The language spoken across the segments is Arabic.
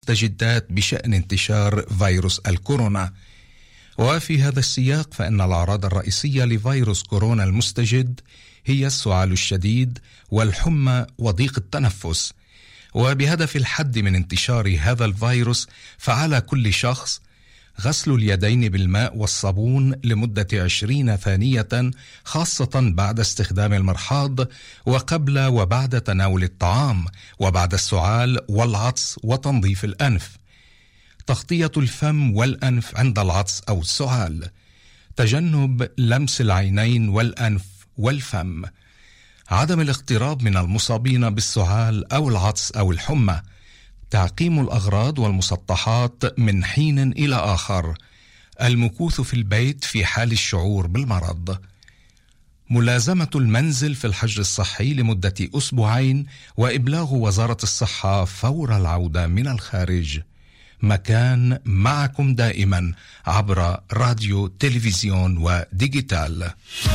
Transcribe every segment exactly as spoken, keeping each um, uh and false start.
المستجدات بشأن انتشار فيروس الكورونا. وفي هذا السياق فإن الأعراض الرئيسية لفيروس كورونا المستجد هي السعال الشديد والحمى وضيق التنفس. وبهدف الحد من انتشار هذا الفيروس فعلى كل شخص غسل اليدين بالماء والصابون لمدة عشرين ثانية، خاصة بعد استخدام المرحاض وقبل وبعد تناول الطعام وبعد السعال والعطس وتنظيف الأنف. تغطية الفم والأنف عند العطس أو السعال. تجنب لمس العينين والأنف والفم. عدم الاقتراب من المصابين بالسعال أو العطس أو الحمى. تعقيم الأغراض والمسطحات من حين إلى آخر. المكوث في البيت في حال الشعور بالمرض. ملازمة المنزل في الحجر الصحي لمدة أسبوعين وإبلاغ وزارة الصحة فور العودة من الخارج. مكان معكم دائما عبر راديو تلفزيون وديجيتال.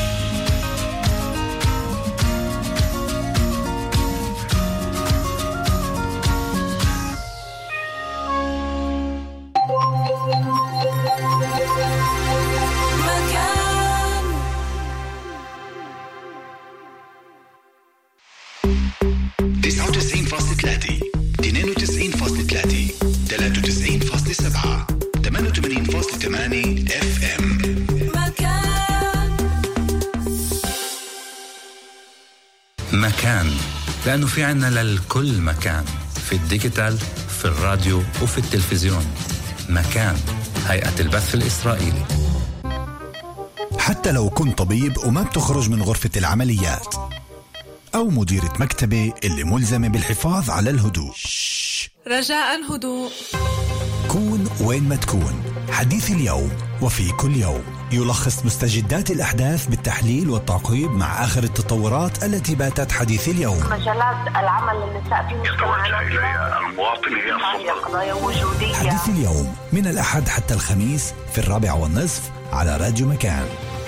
تسعة وتسعين فاصلة ثلاثة اثنين وتسعين فاصلة ثلاثة ثلاثة وتسعين فاصلة سبعة ثمانية وثمانين فاصلة ثمانية اف ام. مكان مكان، لأنه في عنا للكل مكان، في الديجيتال، في الراديو وفي التلفزيون. مكان، هيئة البث الإسرائيلي. حتى لو كنت طبيب وما بتخرج من غرفة العمليات، أو مديرة مكتبة اللي ملزمة بالحفاظ على الهدوء، رجاء هدوء. كون وين ما تكون. حديث اليوم وفي كل يوم يلخص مستجدات الأحداث بالتحليل والتعقيب مع آخر التطورات التي باتت حديث اليوم. مجالات العمل للنساء في مجتمعنا المواطن هي قضايا وجودية. حديث اليوم من الأحد حتى الخميس في الرابع والنصف على راديو مكان.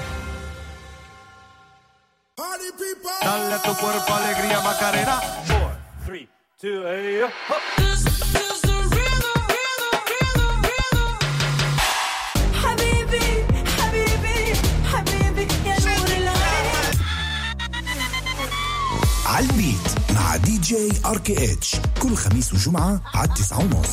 Dale tu cuerpo alegría Macarena. four, three, two, eight. This is the rhythm, rhythm, rhythm, rhythm. حبيبي حبيبي حبيبي يا نور العين. عالبيت مع دي جي ار كي اتش كل خميس وجمعة على التسعة ونص.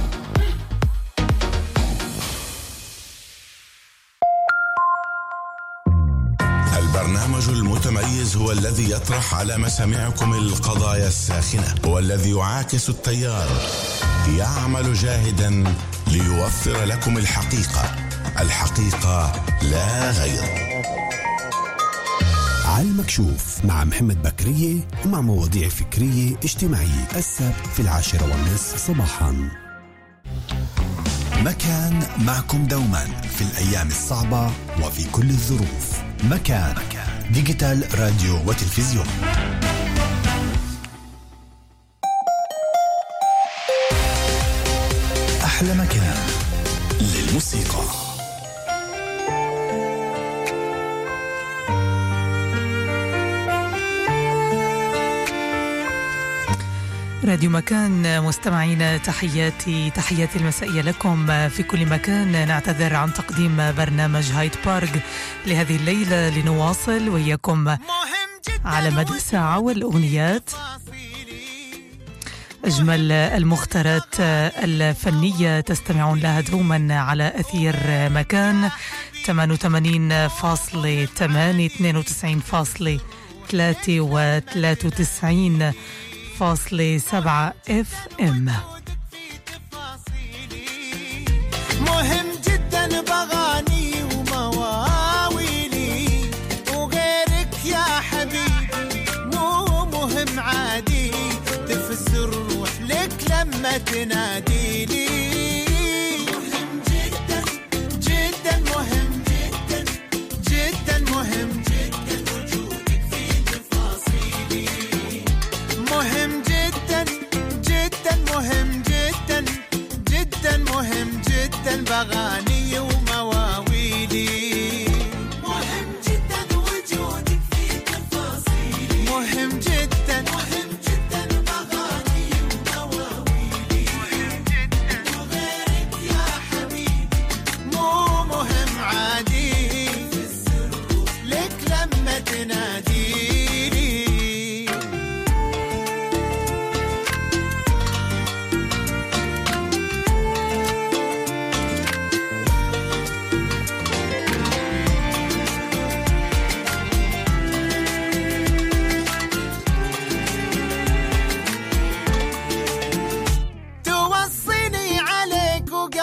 البرنامج المتميز هو الذي يطرح على مسامعكم القضايا الساخنة، هو الذي يعاكس التيار، يعمل جاهدا ليوفر لكم الحقيقة، الحقيقة لا غير. على المكشوف مع محمد بكرية ومع مواضيع فكرية اجتماعية، السبت في العاشرة والنصف صباحا. مكان معكم دوما في الأيام الصعبة وفي كل الظروف. مكان ديجيتال راديو وتلفزيون. أحلى مكان للموسيقى. راديو مكان مستمعينا، تحياتي تحياتي المسائية لكم في كل مكان. نعتذر عن تقديم برنامج هايد بارك لهذه الليلة، لنواصل وياكم على مدى ساعة والأغنيات، أجمل المختارات الفنية تستمعون لها دوما على أثير مكان ثمانية وثمانين فاصلة ثمانية اثنين وتسعين فاصلة ثلاثة و ثلاثة وتسعين فاصلة سبعة اف ام. مهم جدا بغاني ومواويلي وغيرك يا حبيبي، مو مهم عادي تفسر روح لك لما تناديني. مهم جدا جدا مهم جدا جدا مهم جدا وجودك في تفاصيلي. مهم جدا جدا مهم جدا جدا مهم جدا بغاني ومواويلي. مهم جدا وجودك في تفاصيلي. مهم جدا مهم جدا بغاني ومواويلي. مهم جدا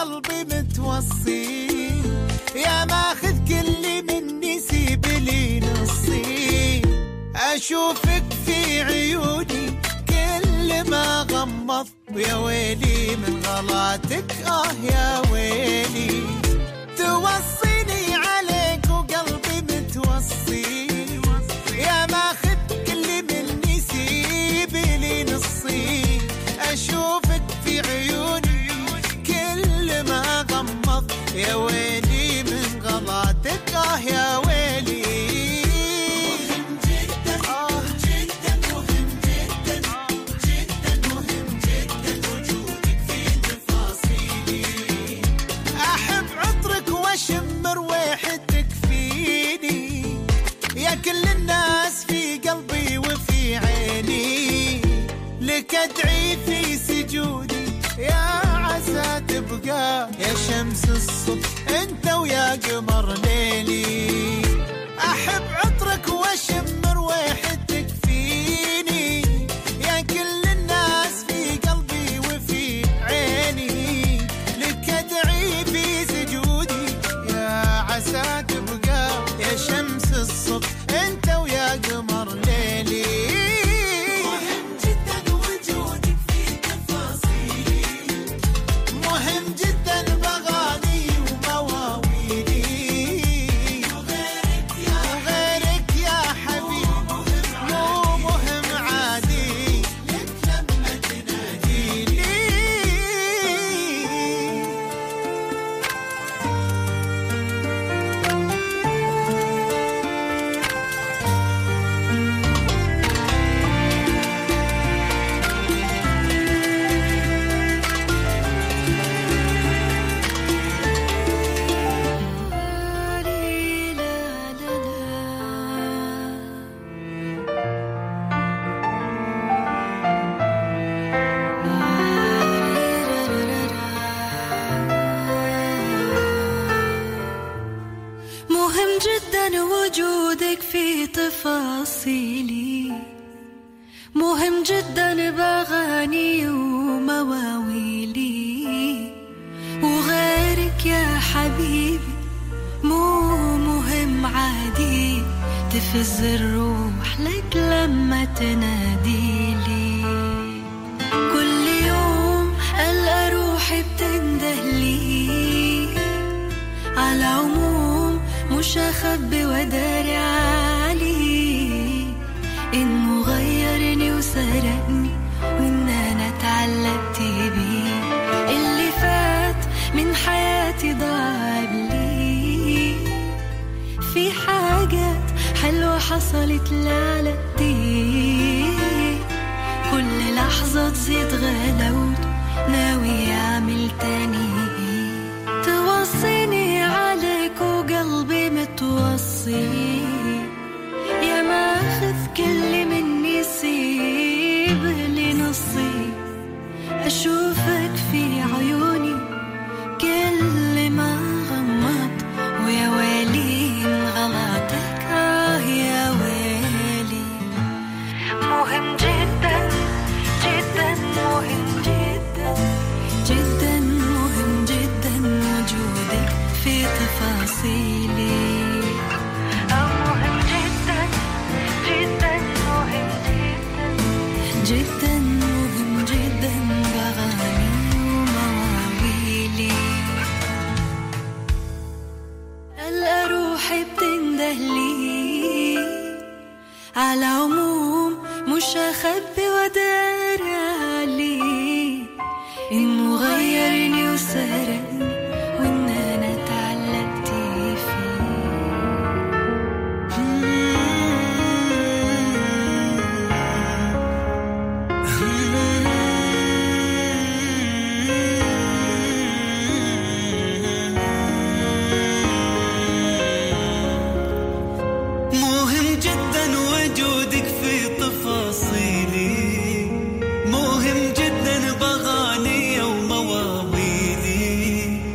وقلبي متوصي يا ماخذ كل مني سيب لي نصي أشوفك في عيوني كل ما غمض يا ويلي من غلاتك آه يا ويلي توصيني عليك وقلبي متوصي يا ماخذ كل مني سيب لي نصي أشوفك في عيوني كل ما غمض يا ويلي من غلاتك آه يا ويلي مهم جدا آه جدا مهم جدا جدا مهم جدا وجودك في تفاصيلي أحب عطرك وأشم رواحتك فيني يا كل الناس في قلبي وفي عيني لك أدعي في سجودي يا عسى تبقى يا شمس الصبح انت ويا قمر ليلي احب عطرك واشم رواحتك فيني يا كل الناس في قلبي وفي عيني لك ادعي في سجودي يا عسى تبقى يا شمس الصبح انت ويا قمر ليلي وجودك في تفاصيلي مهم جدا بأغاني ومواويلي وغيرك يا حبيبي مو مهم عادي تفز الروح لك لما تناديلي كل يوم ألقى روحي بتندهلي على عموم مش أخبي وداري عليه إنه غيرني وسرقني وإن أنا اتعلقت بيه اللي فات من حياتي ضاع لي في حاجات حلوة حصلت لعلقتي كل لحظة تزيد غلاوت ناوي أعمل تاني توصيني عليك وقلبي متوصي يا ماخذ كل مني سيب لي نصي أشوفك في عيوني كل ما غمض ويا ويلي من غلطك آه يا ويلي مهم جدا جدا مهم جدا جدا مهم جدا وجودك في تفاصيلي مهم جدا جدا مهم جدا جدا مهم جدا بأغاني ومواويلي ألقى روحي بتندهلي على عموم مش أخبي ودار علي إنه غيرني وسرقني وإن أنا اتعلقت فيه مهم جدا وجودك في تفاصيلي مهم جدا بأغاني ومواويلي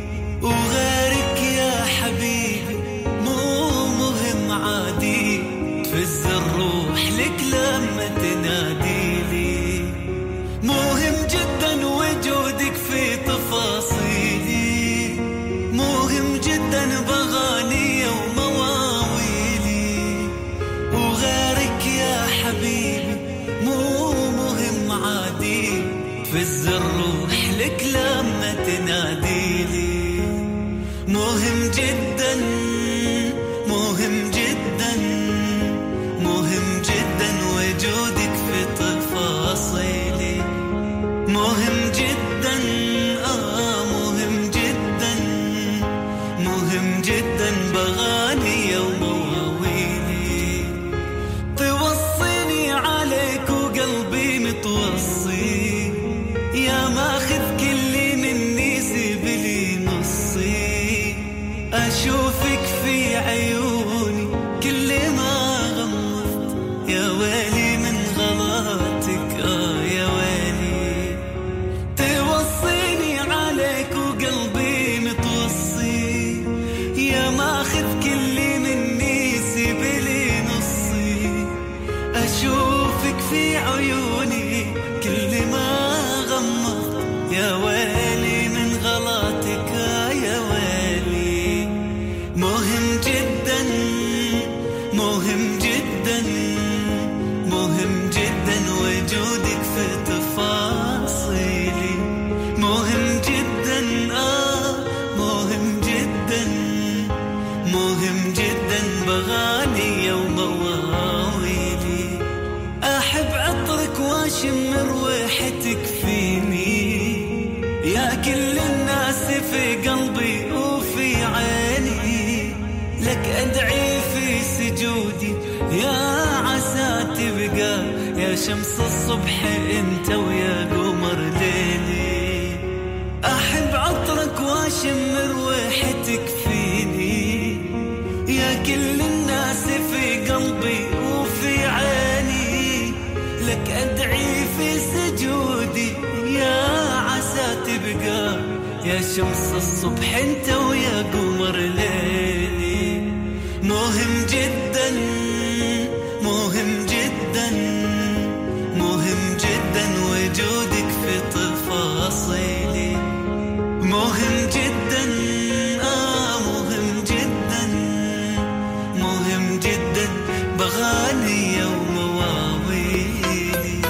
تناديلي. مهم جدا مهم جدا مهم جدا وجودك في تفاصيلي. مهم جدا آه مهم جدا مهم جدا بغاني ومواويلي. توصيني عليك وقلبي متوصي، يا ماخذ كل مني سيب لي نصي. أشوفك في عيوني كل ما غمضت، يا ويلي من غلطك آه يا ويلي. توصيني عليك وقلبي متوصي، يا ماخذ كل مني سيب لي نصي. أشوفك في عيوني كل ما غمضت، يا ويلي من غلطك يا ويلي. مهم جدا مهم جدا مهم جدا وجودك في تفاصيلي. مهم جدا آه مهم جدا مهم جدا بغاني ومواويلي. أحب عطرك واشم رويحتك فيني، يا كل الناس في قلبي وفي عيني. لك أدعي في سجودي يا عسى تبقى، يا شمس الصبح انت ويا قمر ليلي. أحب عطرك واشم رويحتك فيني، يا كل الناس في قلبي وفي عيني. لك أدعي في سجودي يا عسى تبقى، يا شمس الصبح انت ويا قمر ليلي. مهم جدا مهم جدا مهم جدا وجودك في تفاصيلي. مهم جدا آه مهم جدا مهم جدا بغاني ومواويلي.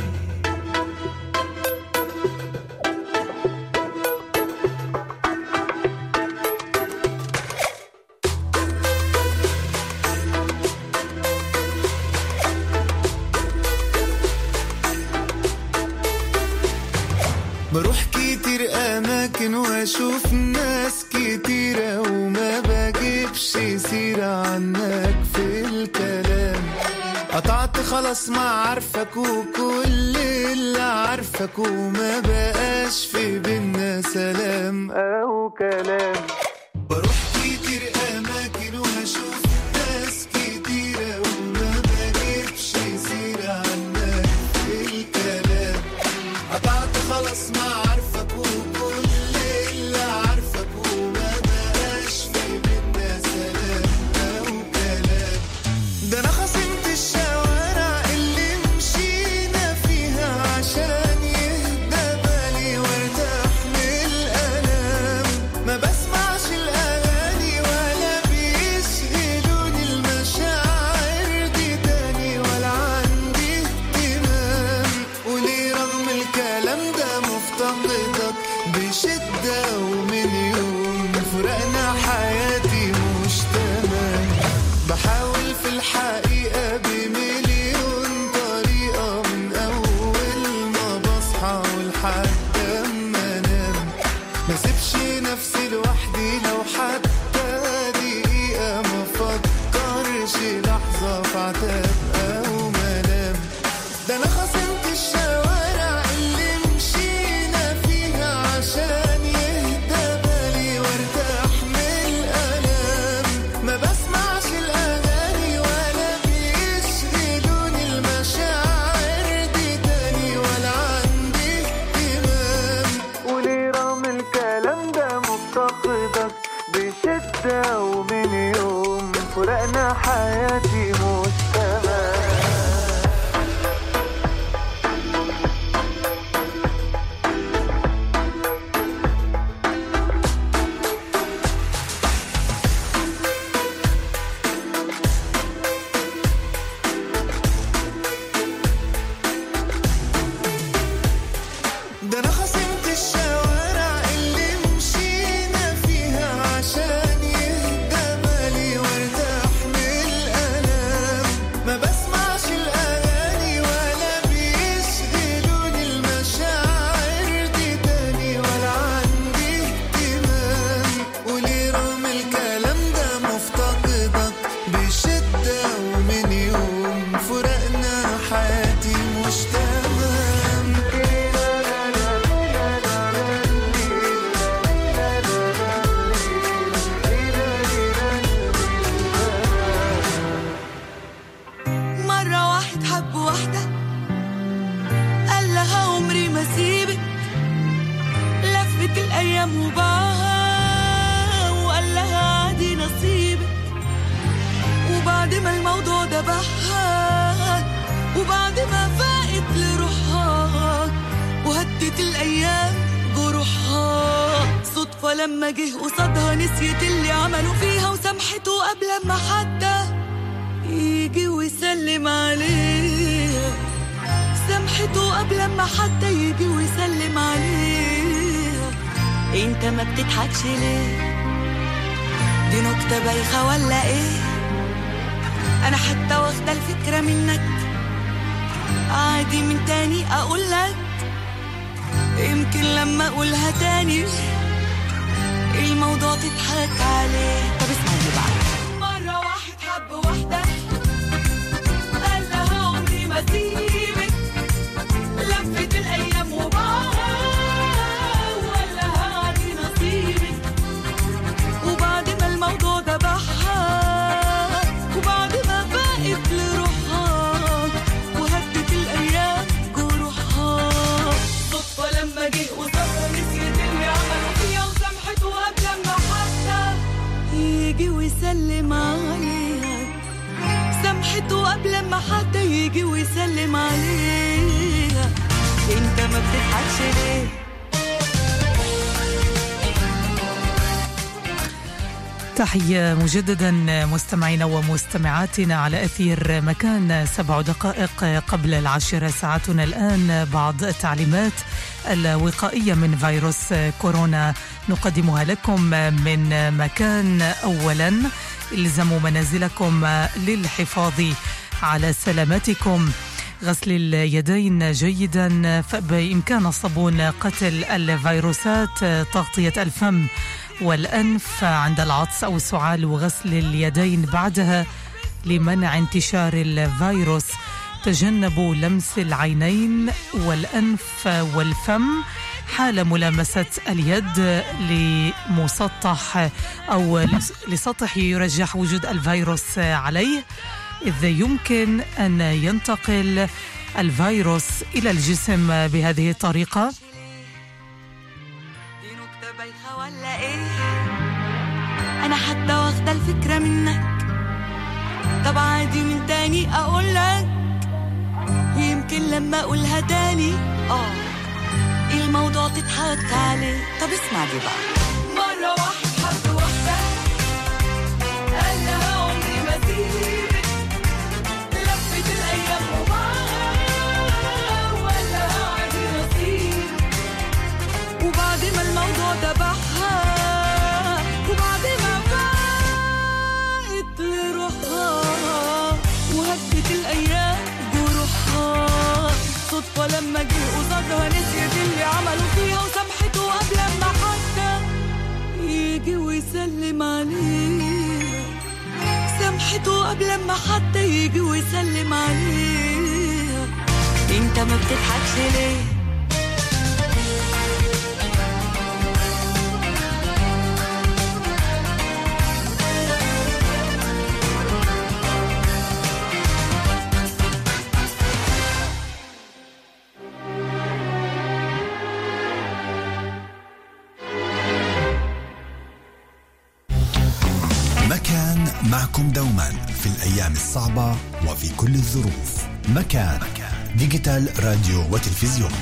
بروح كتير أماكن وأشوف ناس كتيرة، وما بجيبش سيرة عنك في الكلام. قطعت خلاص ما عارفك وكل اللي عارفك، وما بقاش في بينا سلام أو كلام. بروح كتير أماكن وأشوف ناس كتيرة، وما بجيبش سيرة عنك في الكلام. قطعت خلاص ما عارفك وكل اللي عارفك، وما بقاش في بينا سلام أو كلام. ده أنا خصمت الشوارع اللي مشينا فيها عشان يهدى بالي وارتاح من الألام. ما بسمعش الأغاني ولا بيشغلوني المشاعر دي تاني، ولا عندي اهتمام. وليه رغم الكلام ده مفتقدك بشدة، ومن يوم فرقنا حياتي مش تمام. بحاول في الحقيقة بمليون طريقة، من أول ما بصحى ولحد ما انام. ما سيبش نفسي لوحدي لو حتى دقيقة، ما فكرش لحظة في عتاب أو ملام. ده أنا خصمت الشوارع اللي مشينا فيها عشان يهدى بالي وارتاح من الألام. ما بسمعش الأغاني ولا بيشغلوني المشاعر دي تاني، ولا عندي اهتمام. وليه رغم الكلام ده مفتقدك بشدة، ومن يوم فرقنا حياتي مش تمام. ده أنا خصمت الشوارع الأيام وباعها وقال لها عادي نصيبك. وبعد ما الموضوع دبحها وبعد ما فاقت لروحها وهدت الأيام جروحها، صدفة لما جه قصادها نسيت اللي عملوا فيها وسامحته قبل ما حتى يجي ويسلم عليها. سامحته قبل ما حتى يجي ويسلم عليها. انت ما بتضحكش ليه؟ دي نكتة بايخة ولا ايه؟ انا حتى واخدة الفكرة منك، عادي من تاني اقولك، يمكن لما اقولها تاني الموضوع تضحك عليه. طب اسمعني بقى. مرة واحد حب واحدة قال لها عمري ما سيبك، لفت الايام وباعها وقال لها عادي نصيبك. وبعد ما الموضوع دبحها وبعد ما فاقت لروحها وهدت الايام جروحها، صدفة لما جه قصادها نسيت اللي عملوا فيها وسامحته قبل ما حتى يجي ويسلم عليها. سامحته قبل ما حتى يجي ويسلم عليها. انت ما بتضحكش ليه؟ تحية مجددا مستمعينا ومستمعاتنا على أثير مكان. سبع دقائق قبل العاشرة ساعتنا الآن. بعض التعليمات الوقائية من فيروس كورونا نقدمها لكم من مكان. أولا، الزموا منازلكم للحفاظ على سلامتكم. غسل اليدين جيدا، فبإمكان الصابون قتل الفيروسات. تغطية الفم والأنف عند العطس أو السعال وغسل اليدين بعدها لمنع انتشار الفيروس. تجنبوا لمس العينين والأنف والفم حال ملامسة اليد لمسطح أو لسطح يرجح وجود الفيروس عليه، إذ يمكن أن ينتقل الفيروس إلى الجسم بهذه الطريقة. ولا ايه؟ انا حتى واخدة الفكرة منك، طب عادي من تاني اقولك، يمكن لما اقولها تاني اه الموضوع تضحك عليه. طب اسمع دي بقى. مرة واحد حب واحدة قال لها عمري ما سيبك، لفت الايام وباعها وقال لها عادي نصيب. وبعد ما الموضوع دبحها وبعد ما فاقت لروحها وهدت الايام جروحها، صدفة لما جه قصادها نسيت اللي عملوا فيها وسامحته قبل ما حتى يجي ويسلم عليها. سامحته قبل ما حتى يجي ويسلم عليها. انت ما بتضحكش ليه؟ مكان معكم دوما في الأيام الصعبة وفي كل الظروف. مكان ديجيتال راديو وتلفزيون.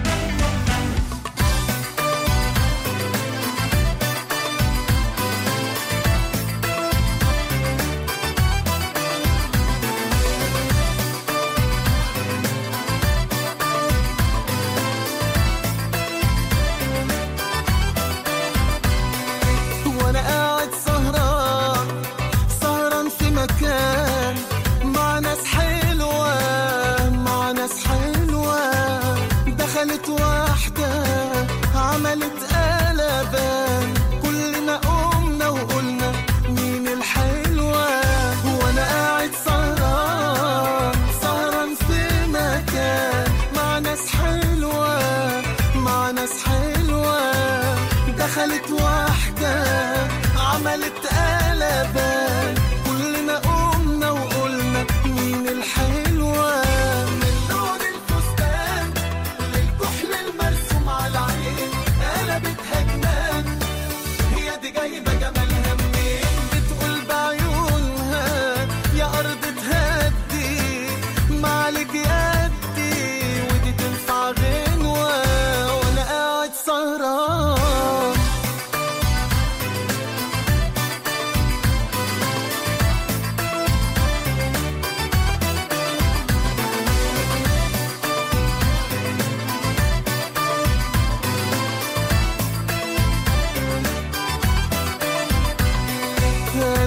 دخلت واحدة عملت قلبان، كلنا قمنا وقلنا مين الحلوة. من لون الفستان للكحل المرسوم على العين قلبتها جنان،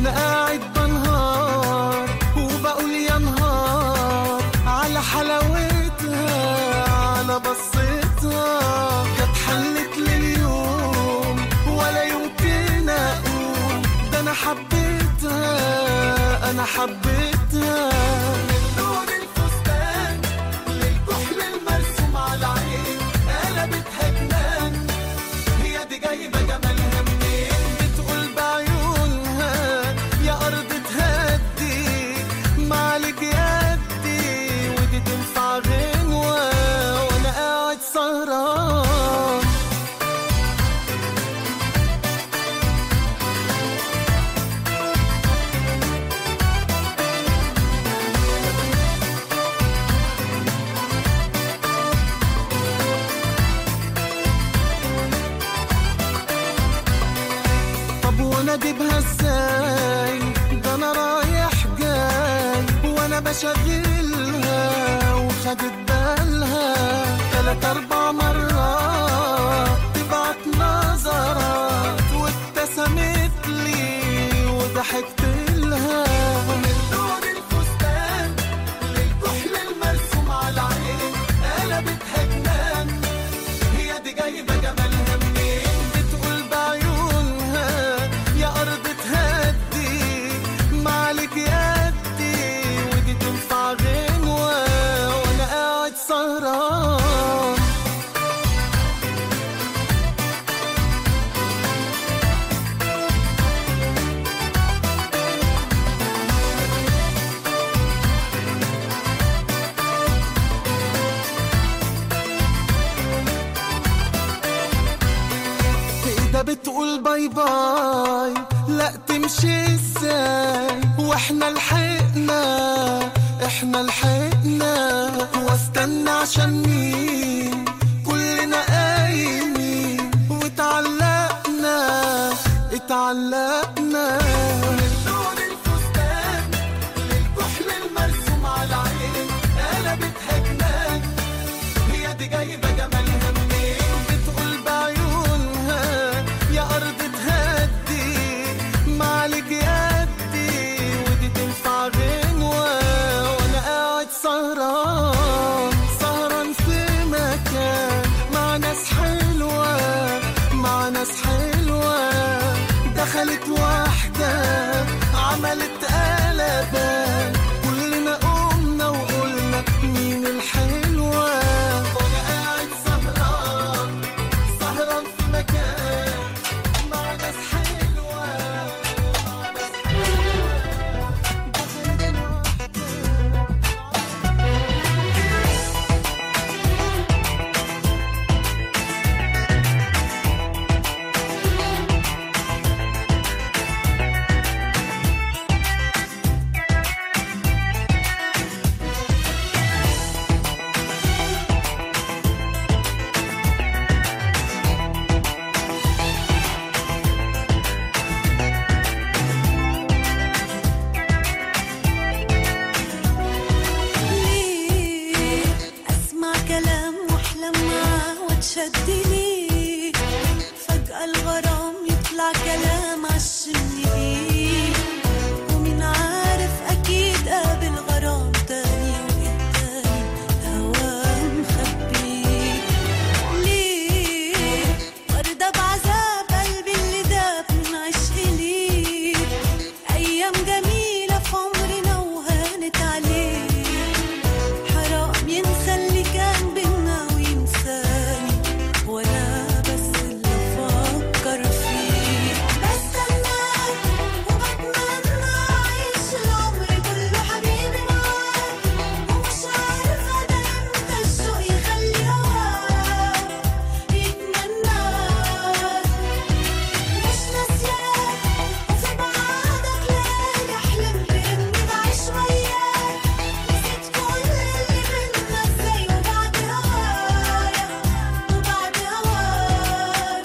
وانا قاعد بنهار وبقول يا نهار على حلاوتها على بصيتها، كانت حلت لليوم ولا يمكن اقول ده انا حبيتها انا حبيتها. من لون الفستان للكحل المرسوم على العين قلبتها جنان، هي دي جايبه جمالها منين؟ بتقول بعيونها يا ارض تهدي معلك يدي، ودي تنفع غنوه وانا قاعد سهران. وانا اجيبها ازاي؟ ده انا رايح جاي وانا بشغلها وخدت بالها ثلاث اربع مرات تبعت نظرات وابتسمت لي وضحكت لها. من لون الفستان للكحل المرسوم على العين قلبتها جنان، هي دي جايبه جمالها منين؟ بتقول بعيونها يا أرض تهدي معلك يدي، ودي تنفع غنوة وأنا قاعد سهران. ده بتقول باي باي لا تمشي ازاي، واحنا لحقنا احنا لحقنا، واستنى عشان مين كلنا قايمين واتعلقنا اتعلقنا. من لون الفستان للكحل المرسوم على العين قلبتها جنان، هي دي جايبه جمالها منين؟ بتقول بعيونها يا أرض تهدي معلك يدي، ودي تنفع غنوة وأنا قاعد سهران سهران في مكان مع ناس حلوة مع ناس حلوة. دخلت واحدة عملت قلبان كلنا قمنا وقلنا مين الحلوة، وأنا قاعد سهران سهران في مكان مع ناس حلوة مع ناس حلوة. شدني فجأة الغرام يطلع كلام عالشني، ومين عارف أكيد قابل غرام تاني والتاني هوا مخبي. ليه وردة بعذاب قلبي اللي داب من عشق ليه، أيام جميلة في عمرنا وهانت عليه، حرام ينسى اللي كان بينا وينساني وانا بس اللي افكر فيه. بستناك وبتمنى اعيش العمر كله حبيبي معاك، ومش عارفه ده امتى الشوق يخلي هواك يتمناك. مش ناسياك وفي بعادك ليالي حلمت اني بعيش وياك، نسيت كل اللي بينا ازاي وبعد هوايا وبعد هواك.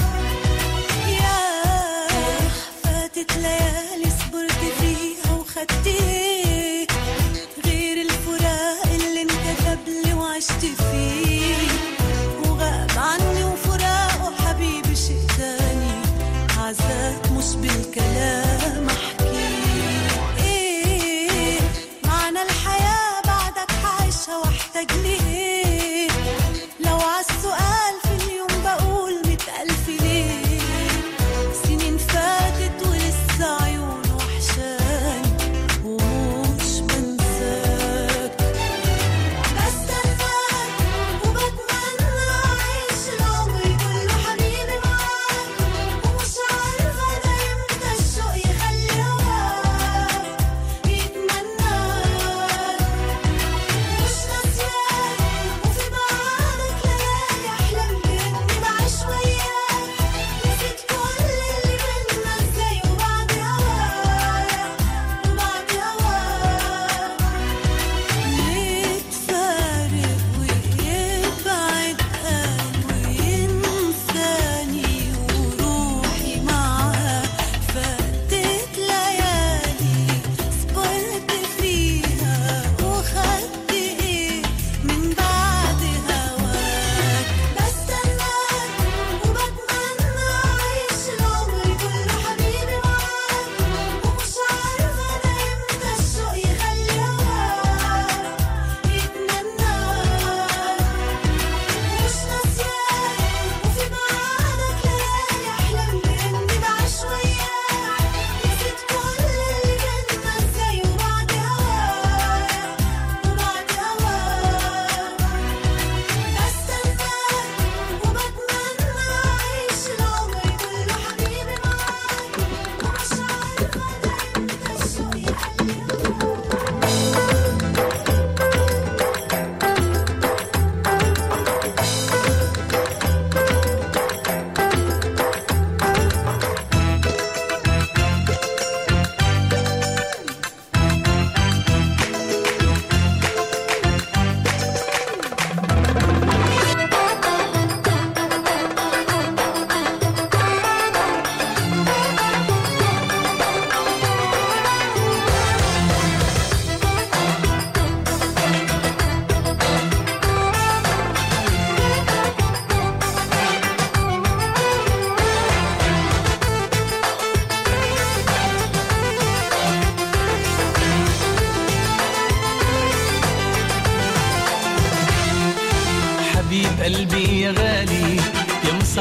ياه فاتت ليالي صبرت فيها وخدت ايه غير الفراق اللي انكتب لي وعشت فيه، وغاب عني وفراقه حبيبي شيء تاني، عذاب مش بالكلام احكيه.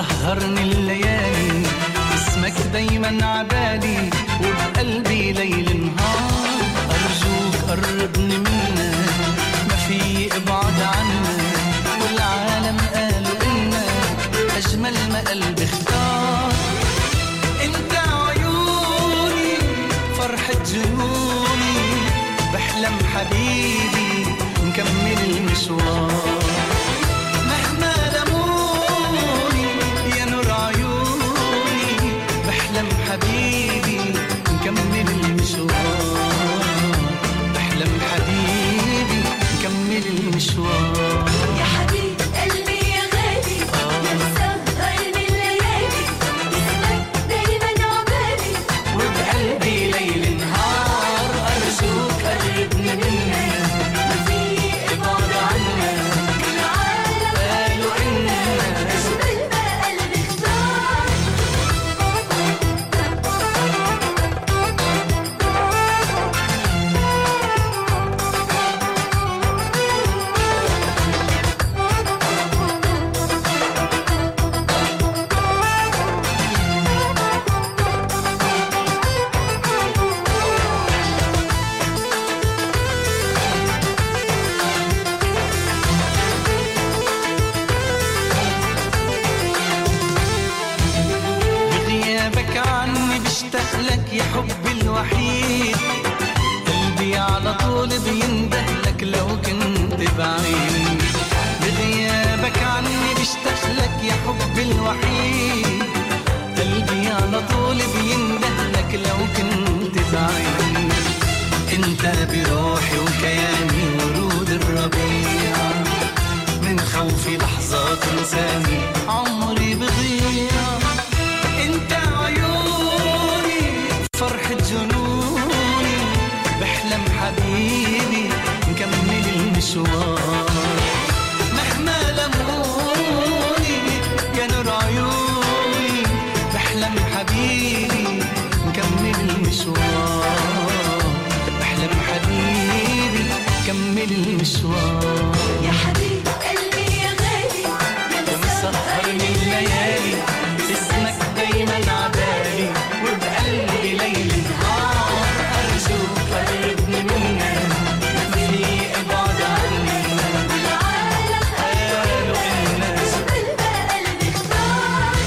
مسهرني الليالي اسمك دايما عبالي وبقلبي ليل نهار أرجوك قربني منك ما في ابعد عنك والعالم قالوا إنك أجمل ما قلبي اختار انت عيوني فرحة جنوني بحلم حبيبي نكمل المشوار مهما لموني يا نور عيوني بحلم حبيبي نكمل المشوار بحلم حبيبي نكمل المشوار يا حبيب قلبي يا غالي يا مسهرني الليالي اسمك دايما عبالي وبقلبي ليل نهار أرجوك قربني منك ما في ابعد عنك العالم قالوا إنك أجمل ما قلبي اختار بغيابك عني بشتاق لك يا حبي الوحيد قلبي على طول بينده لك لو كنت بعيد بغيابك عني بشتاق لك يا حبي الوحيد قلبي على طول بينده لك لو كنت بعيد انت بروحي وكياني ورود الربيع من خوفي لحظات انساني عمري بضيع انت عيوني فرحة جنوني بحلم حبيبي نكمل المشوار مهما لموني يا نور عيوني بحلم حبيبي نكمل المشوار بحلم حبيبي نكمل المشوار يا حبيب قلبي يا غالي يا مسهرني الليالي اسمك دايما عبالي وبقلبي ليل نهار أرجوك قربني منك ما في ابعد عني العالم قالوا إنك أجمل ما قلبي اختار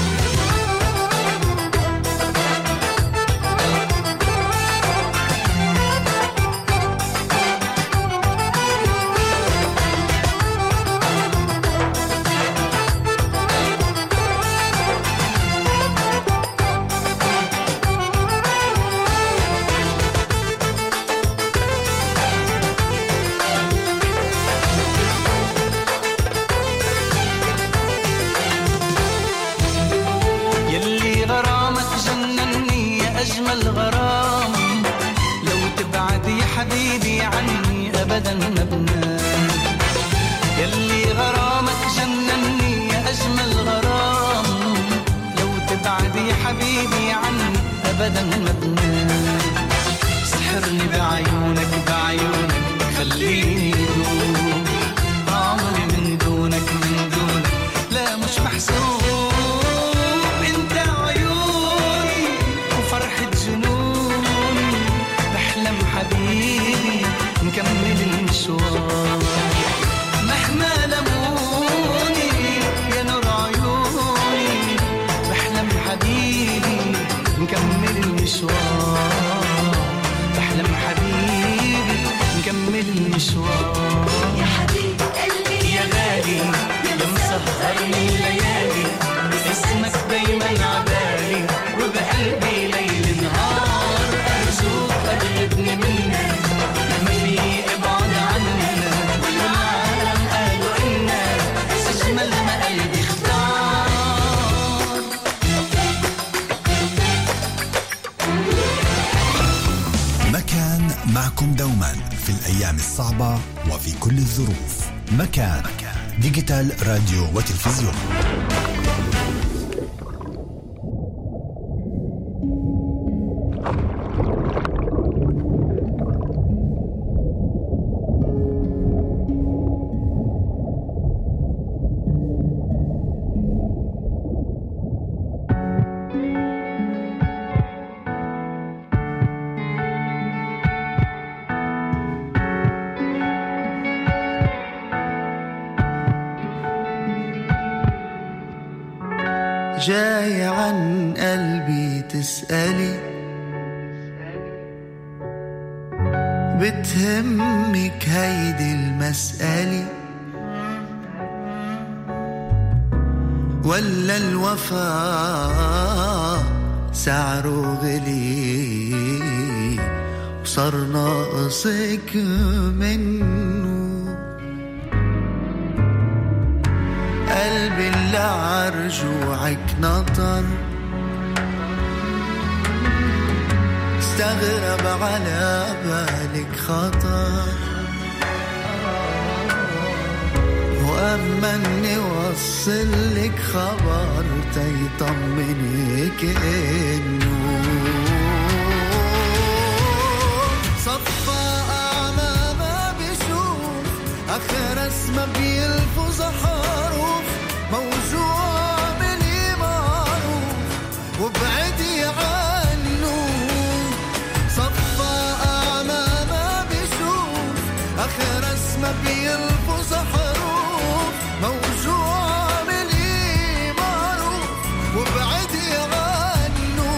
يلي غرامك جنني يا أجمل غرام لو تبعد يا حبيبي عني أبدا ما بنام يلي غرامك جنني يا أجمل غرام لو تبعد يا حبيبي عني أبدا ما بنام سحرني بعيونك بعيونك خليني دوم عمري من دونك من دونك لا مش محسوب انت عيوني وفرحة جنوني بحلم حبيبي نكمل المشوار مهما لموني يا نور عيوني بحلم حبيبي نكمل المشوار بحلم حبيبي نكمل المشوار يا حبيب قلبي يا غالي يا مسهرني الليالي اسمك دايما عبالي وبقلبي ليل نهار أرجوك قربني منك ما في ابعد عننا والعالم قالوا إنك أجمل ما قلبي اختار مكان معكم دوما في الأيام الصعبة وفي كل الظروف. مكان ديجيتال راديو وتلفزيون. جاي عن قلبي تسألي بتهمك هيدي المسألة ولا الوفاء سعره غلي وصار ناقصك منه قلبي اللي عرجوعك نطر استغرب على بالك خطر وأما اني وصل لك خبر تيطمنك انه صفى أعمى ما بيشوف آخر اسمه بيلفظ حروف موجوع مني معروف وبعدي عنه صفى أعمى ما بيشوف آخر اسمه بيلفظ حروف موجوع مني معروف وبعدي عنه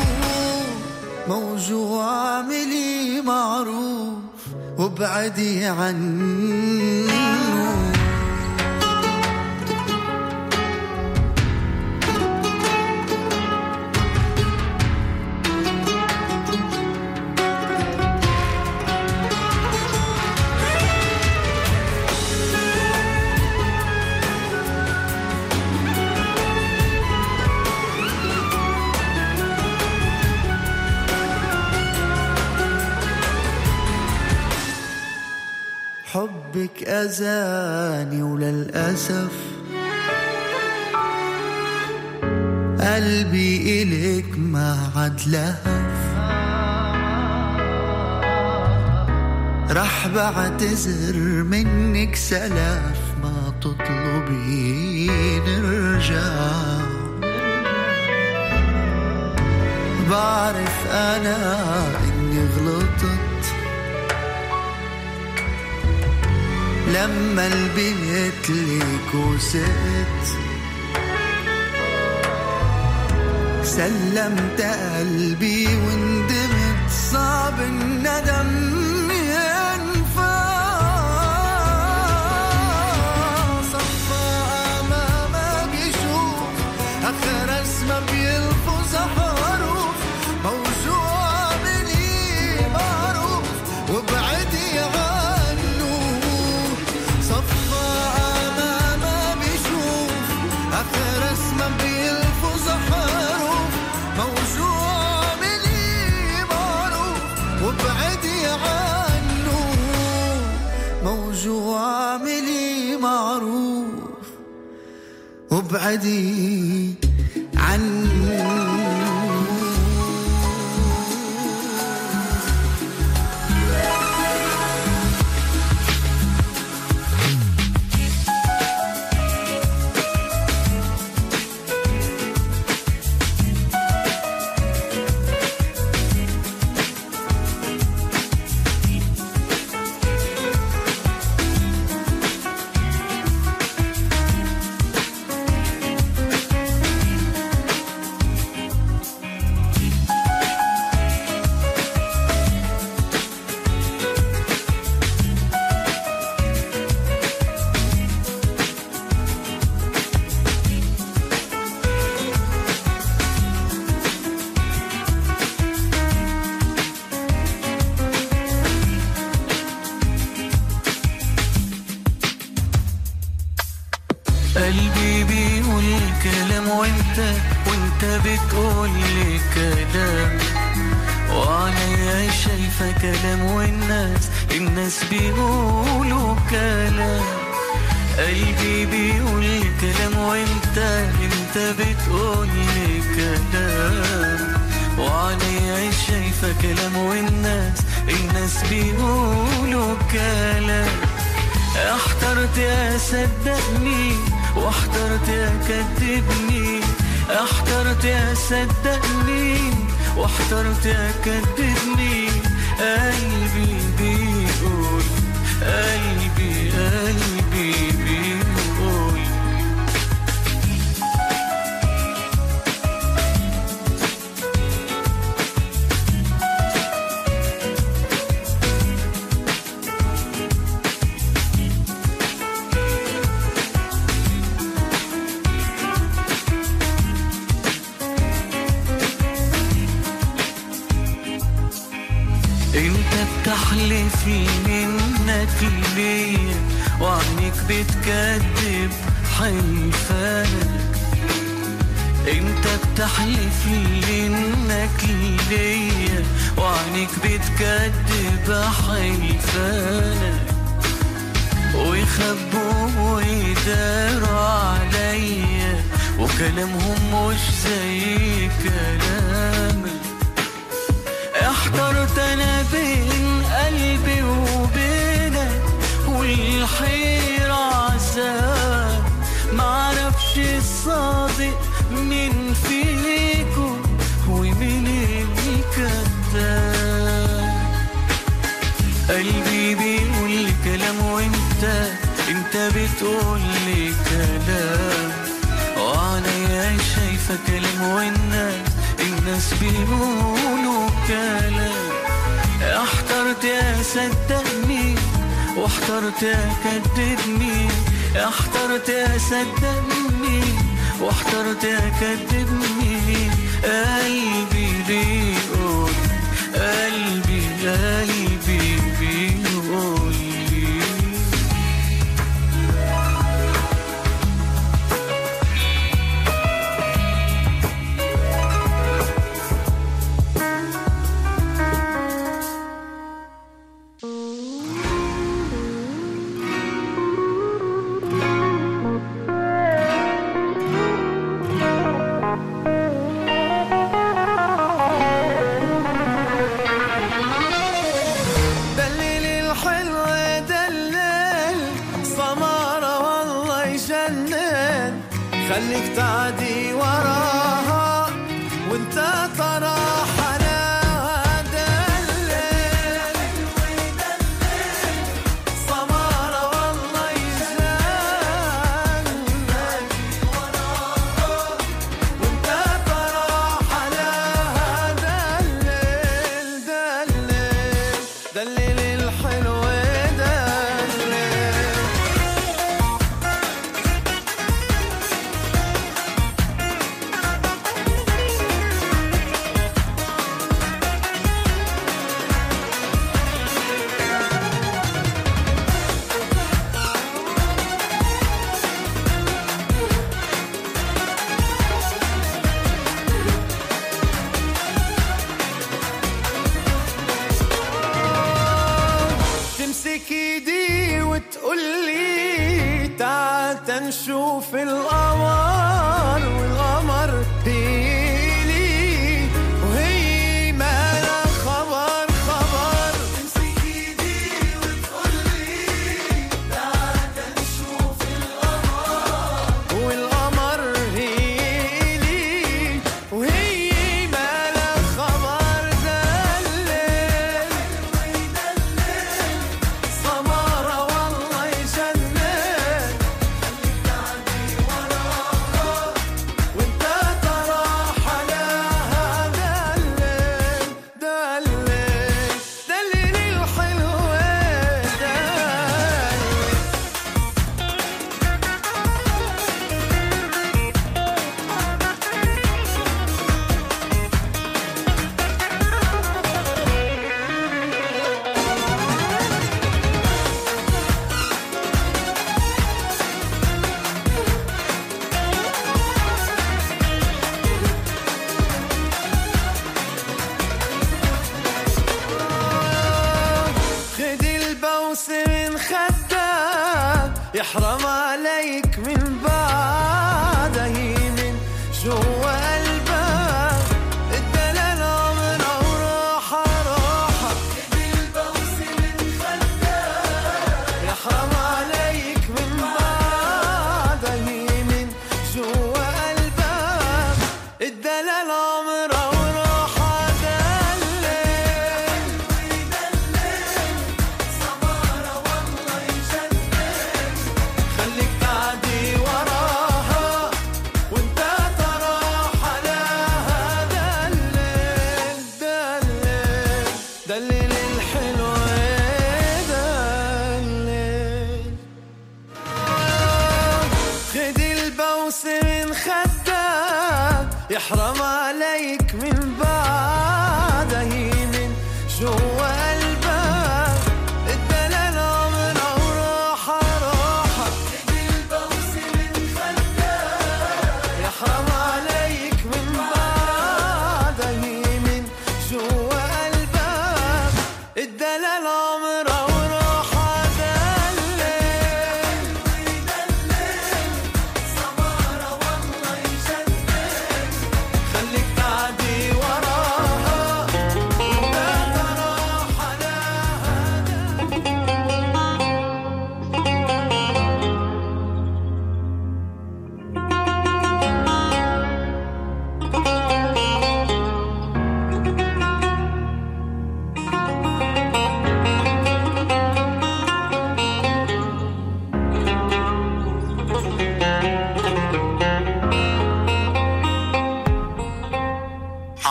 موجوع مني معروف وبعدي عنه حبك أذاني وللأسف قلبي إليك ما عاد لهف رح بعتذر منك سلف ما تطلبي نرجع بعرف أنا إني غلطت لما البيت ليك وسقت سلمت قلبي وندمت صعب الندم ينفع صفى أعمى ما بيشوف آخر اسمه بيلفظ حروف موجوع مني معروف وبعدي عنه صفى أعمى ما بيشوف آخر اسمه بيلفظ حروف موجوع مني معروف وبعدي عنه موجوع مني معروف وبعدي عنه قلبي بيقول كلام وانت وانت بتقول لي كلام وعليا شايفة كلام والناس الناس بيقولوا كلام قلبي بيقول كلام وانت انت بتقول لي كلام وعليا شايفة كلام والناس الناس بيقولوا كلام احترت يا صدقني واحترت يا كذبني احترت يا صدقني واحترت يا كذبني قلبي بيقول قلبي قلبي بيقول انت بتحلف لي انك ليا وعنك بتكذب حلفانك. انت بتحلف لي انك ليا وعنك بتكذب حلفانك. ويخبوا ويداروا عليا وكلامهم مش زي كلامي. احترت انا بين قلبي وبينك والحيرة عذاب. معرفش الصادق مين فيكم ومين الكذاب. قلبي بيقول لي كلام وانت انت بتقول لي كلام. وعليا شايفة كلام والناس الناس بيقولوا كلام. احترت يا صدقني واحترت يا كدبني. احترت يا صدقني واحترت يا كدبني. قلبي بيقول قلبي قلبي بيقول لي خليك تعدي وراها وانت ترى حلاوة. دلل سمارة والله يجنن وانت ترى حلاوة. دلل دلل دلل الحلوة. تمسك ايدي وتقولي تعال تنشوف القمر. والقمر هيلي وهي ما لا خبر خبر. تمسك ايدي وتقولي تعال تنشوف القمر. والقمر هيلي وهي ما لا خبر. من خدك يحرم عليك من بعده من جوا قلبك. الدلال عمره وراحة راحة. البوس من خدك يحرم عليك من بعده من جوا قلبك. الدلال عمره وراحة. دلل الحلوة دلل خد البوس من خدك يحرم عليك من بعده من جوا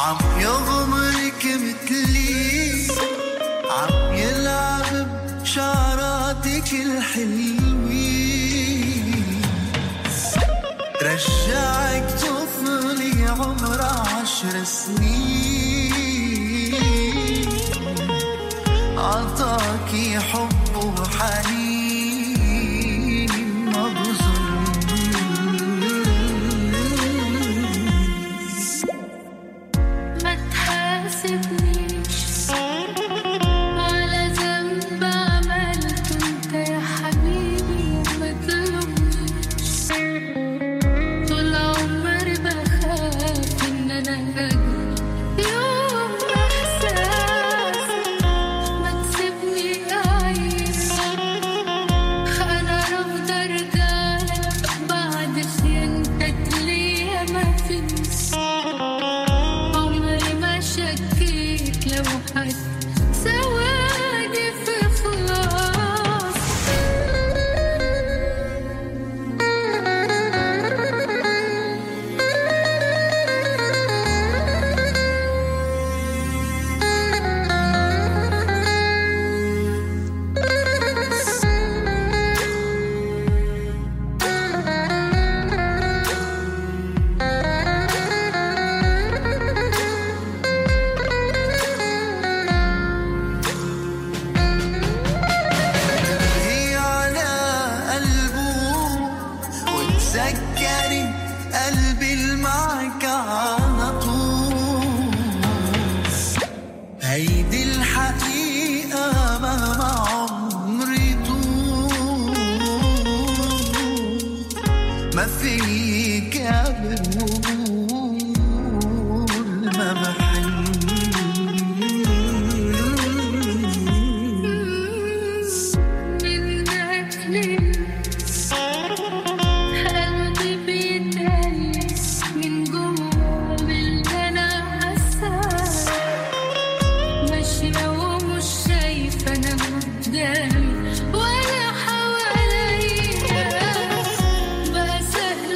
عم يغمرك مثلي عم يلعب بشعراتك الحلوين رجعك طفلي عمر عشر سنين عطاكي حب وحنين ما بظن ما تحاسبنيش على ذنب عملته انت يا حبيبي وما تلومنيش طول عمري بخاف ان انا اجري يوم احساسي ما تسيبني اعيش انا رافضه ارجعلك بعد خيانتك ليا ما فيش عمري ما شكيت لو حد سواني في خلاص هي على قلبه وتذكري قلبي اللي معك على طول هيدي الحقيقة مهما عمري طول ما فيك قبل ما بحن من أجلي قلبي بيتقلس من جوا باللي أنا حاساه ماشية ومش شايفة أنا قدامي ولا حواليا بقى سهل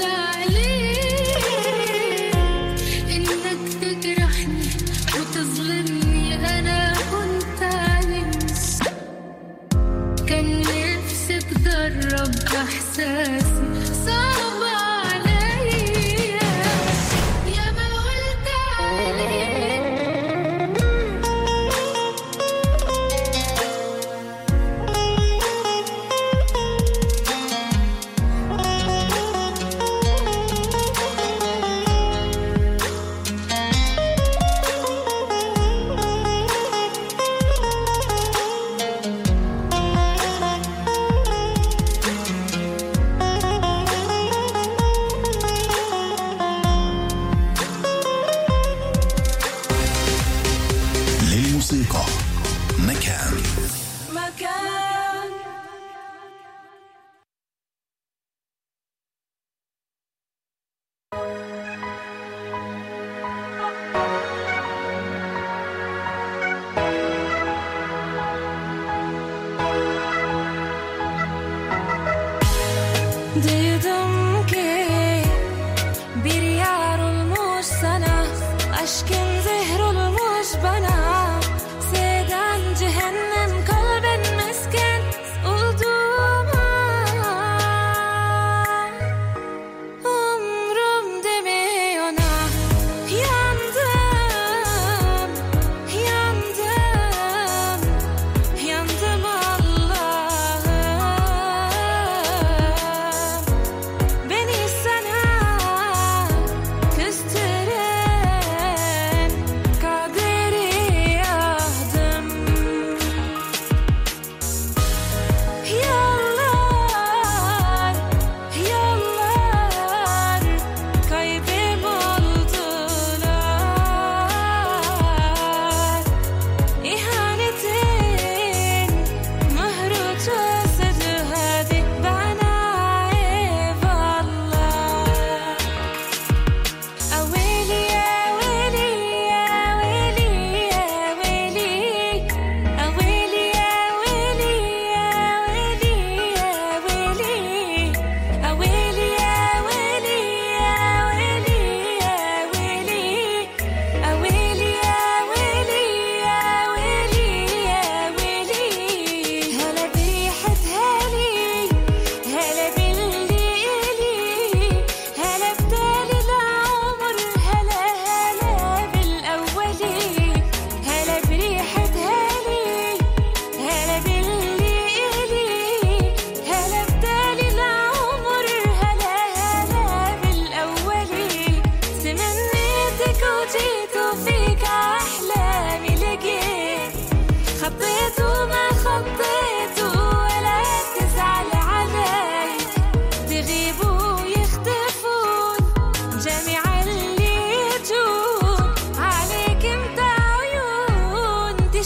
عليك إنك تجرحني وتظلمني أنا كنت علمت كان نفسي تجرب احساسي صعب عليا يا ما قلت عليك للموسيقى مكان. مكان Dedim ki bir yar olmuş sana, aşkın zehir olmuş bana. Seden cehennem kalbin mesken olduğuma umrum deme ona. Yandım, yandım, yandım Allah'ım.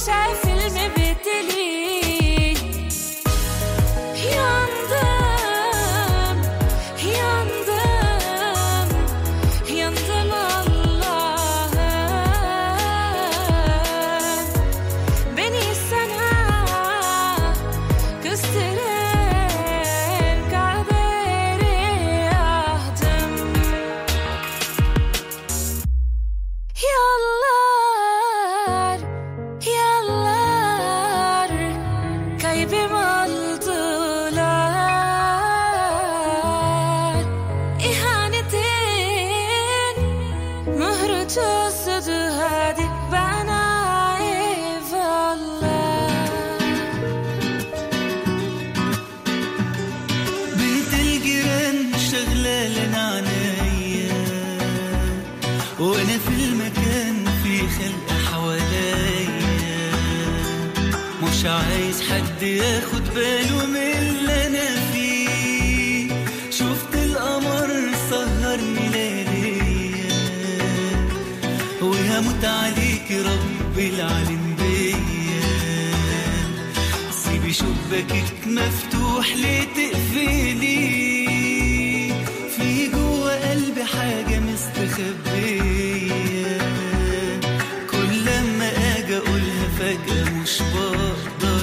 شايف المبتلي ينضم ينضم ينضم الله بني السنة كسترين كعبيري أهدم يالله يالله كيبي مالدولار إهانتين مهر جسد هادي بنايف الله بنت الجيران شغلة لنا عنايا وانا في المكان في خلق حواليا مش عايز حد ياخد باله من اللي انا فيه شفت القمر سهرني لياليا وهموت عليك رب العالم بيا سيبي شباكك مفتوح ليه تقفلي في جوا قلبي حاجة مستخبية كل لما اجي اقولها فجأة مش بقدر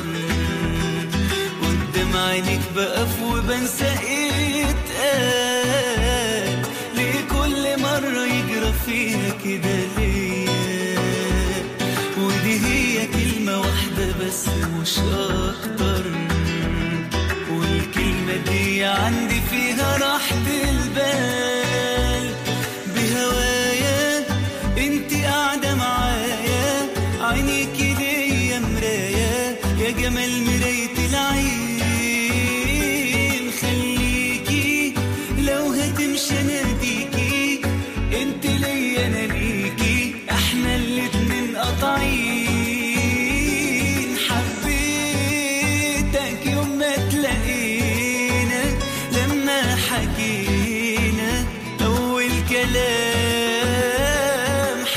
قدام عينيك بقف وبنسى ايه اتقال ليه كل مرة يجرى فيها كده ليا ودي هي كلمة واحدة بس مش اكتر والكلمة دي عندي فيها راحة البال بهوايا انتي قاعدة معايا عينيكي ليا مرايا يا جمال مراية العين خليكي لو هتمشي ناديكي انتي ليا انا ليكي احنا الاتنين قاطعين حبيتك يوم ما تلاقينا لما حكينا اول كلام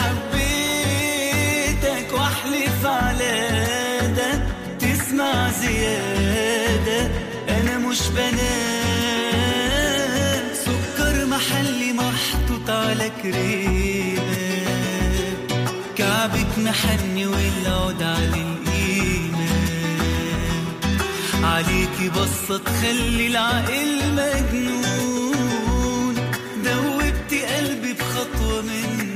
حبيتك واحلف على ده تسمع زيادة انا مش بنام سكر محلي محطوط على كريمة كعبك محني والعود على القيمة عليكي بصة تخلي العقل مجنون دوبتي قلبي بخطوة من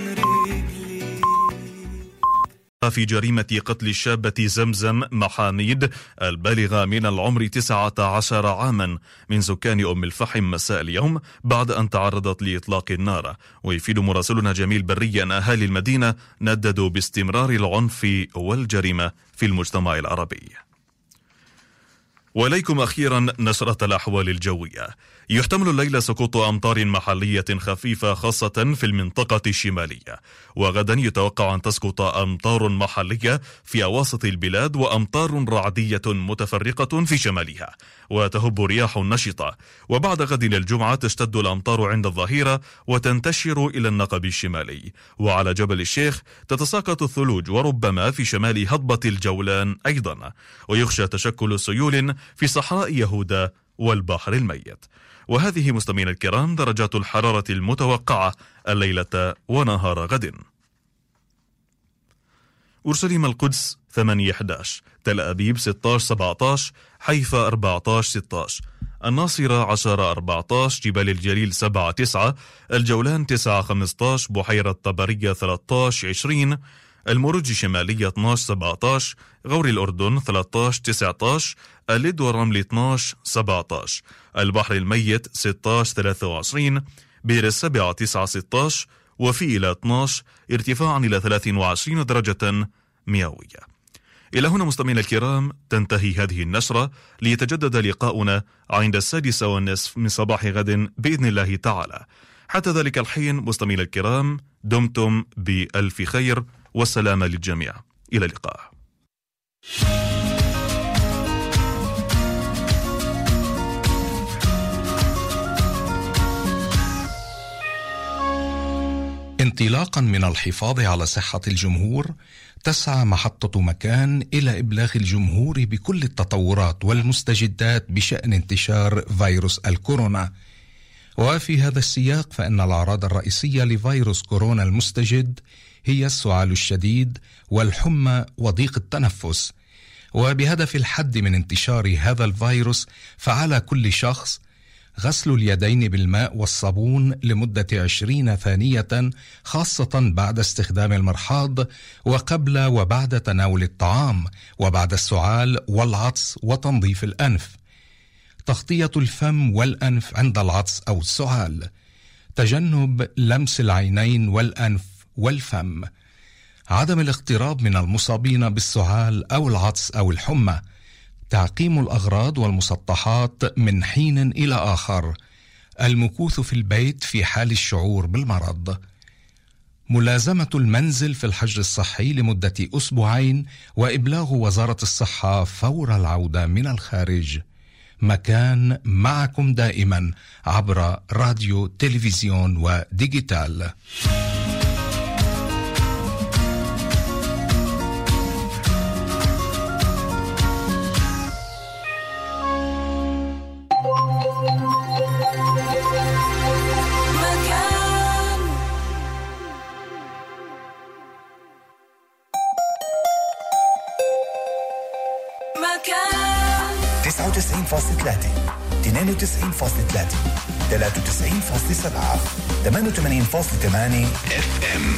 في جريمة قتل الشابة زمزم محاميد البالغة من العمر تسعة عشر عاما من سكان أم الفحم مساء اليوم بعد أن تعرضت لإطلاق النار. ويفيد مراسلنا جميل بري أن أهالي المدينة نددوا باستمرار العنف والجريمة في المجتمع العربي. وليكم أخيرا نشرة الأحوال الجوية. يحتمل الليلة سقوط أمطار محلية خفيفة خاصة في المنطقة الشمالية، وغدا يتوقع أن تسقط أمطار محلية في أواسط البلاد وأمطار رعدية متفرقة في شمالها، وتهب رياح نشطة. وبعد غد الجمعة تشتد الأمطار عند الظهيرة وتنتشر إلى النقب الشمالي، وعلى جبل الشيخ تتساقط الثلوج وربما في شمال هضبة الجولان أيضا، ويخشى تشكل سيول في صحراء يهودا والبحر الميت. وهذه مستمعينا الكرام درجات الحرارة المتوقعة الليلة ونهار غد. أورشليم القدس ثمانية أحد عشر، تل أبيب ستة عشر سبعة عشر، حيفا أربعة عشر ستة عشر، الناصرة عشرة أربعة عشر، جبال الجليل سبعة تسعة، الجولان تسعة خمسة عشر، بحيرة طبرية ثلاثة عشر عشرين، المروج الشمالية اثنا عشر سبعة عشر، غور الأردن ثلاثة عشر تسعة عشر، اللد والرمل اثنا عشر سبعة عشر، البحر الميت ستة عشر ثلاثة وعشرين، بئر السبعة تسعة ستة عشر، وفي إلى اثنا عشر، ارتفاعا إلى ثلاثة وعشرين درجة مئوية. إلى هنا مستمعينا الكرام تنتهي هذه النشرة، ليتجدد لقاؤنا عند السادسة والنصف من صباح غد بإذن الله تعالى. حتى ذلك الحين مستمعينا الكرام دمتم بألف خير والسلام للجميع، إلى اللقاء. انطلاقا من الحفاظ على صحة الجمهور، تسعى محطة مكان إلى إبلاغ الجمهور بكل التطورات والمستجدات بشأن انتشار فيروس الكورونا. وفي هذا السياق فإن الأعراض الرئيسية لفيروس كورونا المستجد هي السعال الشديد والحمى وضيق التنفس. وبهدف الحد من انتشار هذا الفيروس فعلى كل شخص غسل اليدين بالماء والصابون لمدة عشرين ثانية، خاصة بعد استخدام المرحاض وقبل وبعد تناول الطعام وبعد السعال والعطس وتنظيف الأنف. تغطية الفم والأنف عند العطس أو السعال. تجنب لمس العينين والأنف والفم. عدم الاقتراب من المصابين بالسعال أو العطس أو الحمى. تعقيم الأغراض والمسطحات من حين إلى آخر. المكوث في البيت في حال الشعور بالمرض. ملازمة المنزل في الحجر الصحي لمدة أسبوعين وإبلاغ وزارة الصحة فور العودة من الخارج. مكان معكم دائما عبر راديو تلفزيون وديجيتال. تسعة وتسعين فاصلة ثلاثة اثنين وتسعين فاصلة ثلاثة ثلاثة وتسعين فاصلة سبعة ثمانية وثمانين فاصلة ثمانية اف ام.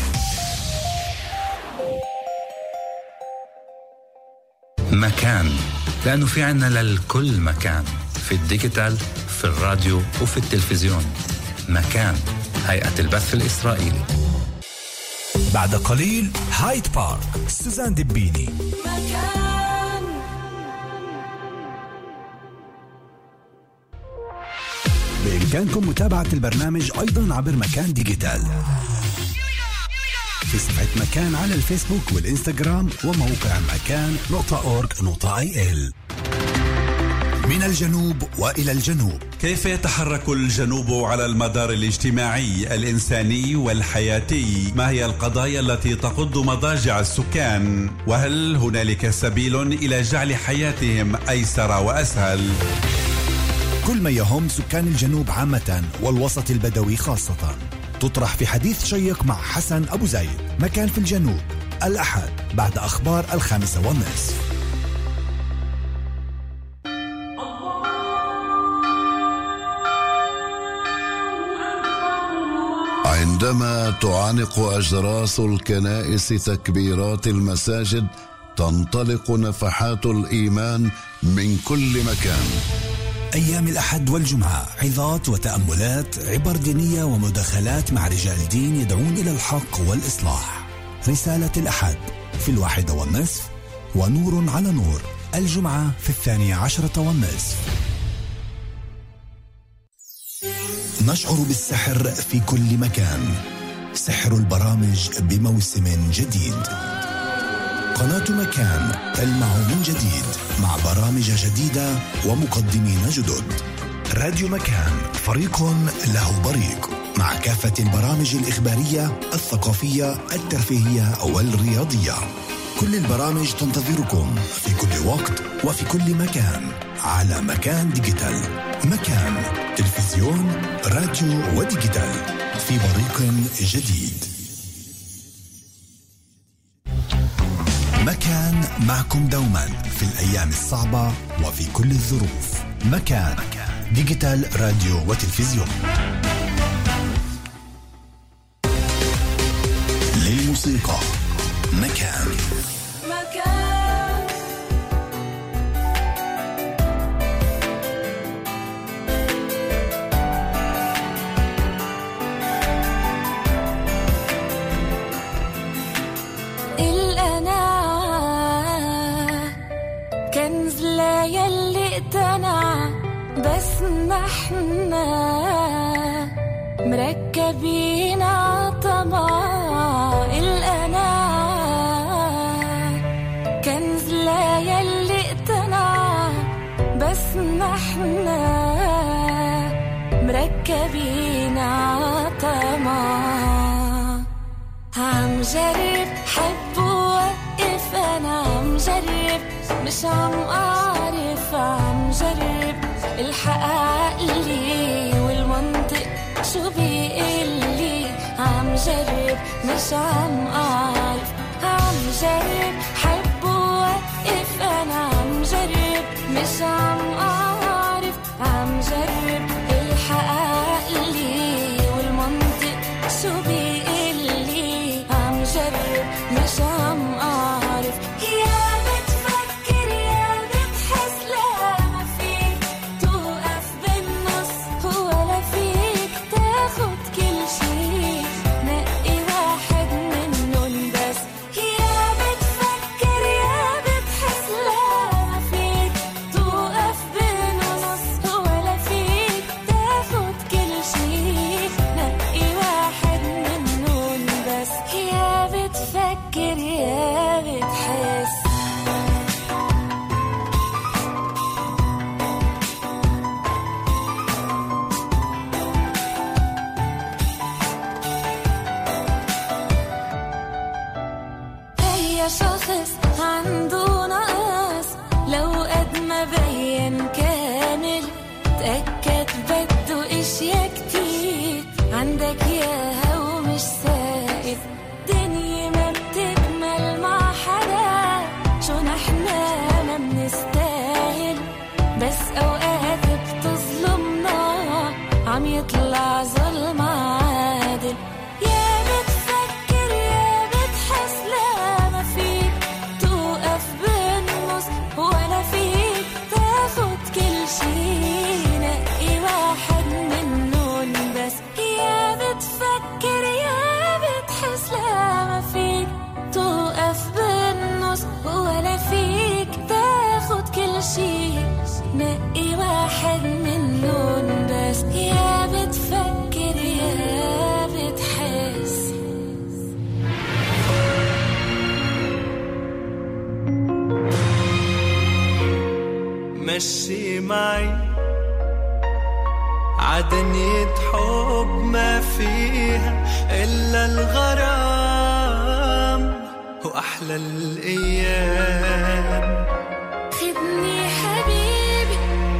مكان، لأنه في عنا للكل مكان، في الديجيتال، في الراديو وفي التلفزيون. مكان، هيئة البث الإسرائيلي. بعد قليل هايد بارك، سوزان دبيني. مكان. بإمكانكم متابعة البرنامج أيضا عبر مكان ديجيتال في صفحة مكان على الفيسبوك والإنستغرام وموقع مكان نقطة أورج نقطة آي إل. من الجنوب وإلى الجنوب. كيف يتحرك الجنوب على المدار الاجتماعي الإنساني والحياتي؟ ما هي القضايا التي تقض مضاجع السكان؟ وهل هنالك سبيل إلى جعل حياتهم أيسر وأسهل؟ كل ما يهم سكان الجنوب عامة والوسط البدوي خاصة تطرح في حديث شيق مع حسن أبو زايد. مكان في الجنوب الأحد بعد أخبار الخامسة والنصف. عندما تعانق أجراس الكنائس تكبيرات المساجد تنطلق نفحات الإيمان من كل مكان. أيام الأحد والجمعة عظات وتأملات، عبر دينية ومداخلات مع رجال دين يدعون إلى الحق والإصلاح. رسالة الأحد في الواحدة والنصف، ونور على نور الجمعة في الثانية عشرة والنصف. نشعر بالسحر في كل مكان. سحر البرامج بموسم جديد. قناة مكان تلمع من جديد مع برامج جديدة ومقدمين جدد. راديو مكان فريق له بريق مع كافة البرامج الإخبارية، الثقافية، الترفيهية والرياضية. كل البرامج تنتظركم في كل وقت وفي كل مكان على مكان ديجيتال. مكان تلفزيون، راديو وديجيتال في بريق جديد. مكان معكم دوما في الأيام الصعبة وفي كل الظروف. مكان ديجيتال راديو وتلفزيون. للموسيقى مكان. بس نحنا مركبين عطمع الأنا كنز لا يلي اقتنع. بس نحنا مركبين عطمع. عم جرب حبوا مش عم أعرف عم جرب الحق عقلي والمنطق شو بيقلي عم جرب مش عم أعرف عم جرب حب ووقف أنا عم جرب مش عم أعرف عم جرب الحق عقلي والمنطق شو بيقلي عم جرب مش عم أعرف يا بتفكر يا بتحس لا ما فيك توقف بالنص ولا فيك تاخد كل شي نقي واحد منهم بس يا بتفكر يا بتحس لا ما فيك توقف بالنص ولا فيك تاخد كل شي نقي واحد منهم بس يا بتفكر يا بتحس هي شخص عنده نقص لو قد ما بين كامل تأكد بده اشياء كتير عندك ياها ومش سائد دنيا ما بتكمل مع حدا شو نحنا ما بنستاهل بس اوقات بتظلمنا عم يطلع ظلم عادل يا بتفكر يا بتحس لا ما فيك توقف بالنص ولا فيك تاخد كل شي نقي واحد منهم بس يا بتفكر يا بتحس لا ما فيك توقف بالنص ولا فيك تاخد كل شي نقي واحد منهم بس يا بتفكر يا بتحس مشي معي عدنية حب ما فيها إلا الغرام وأحلى الأيام خدني حبيبي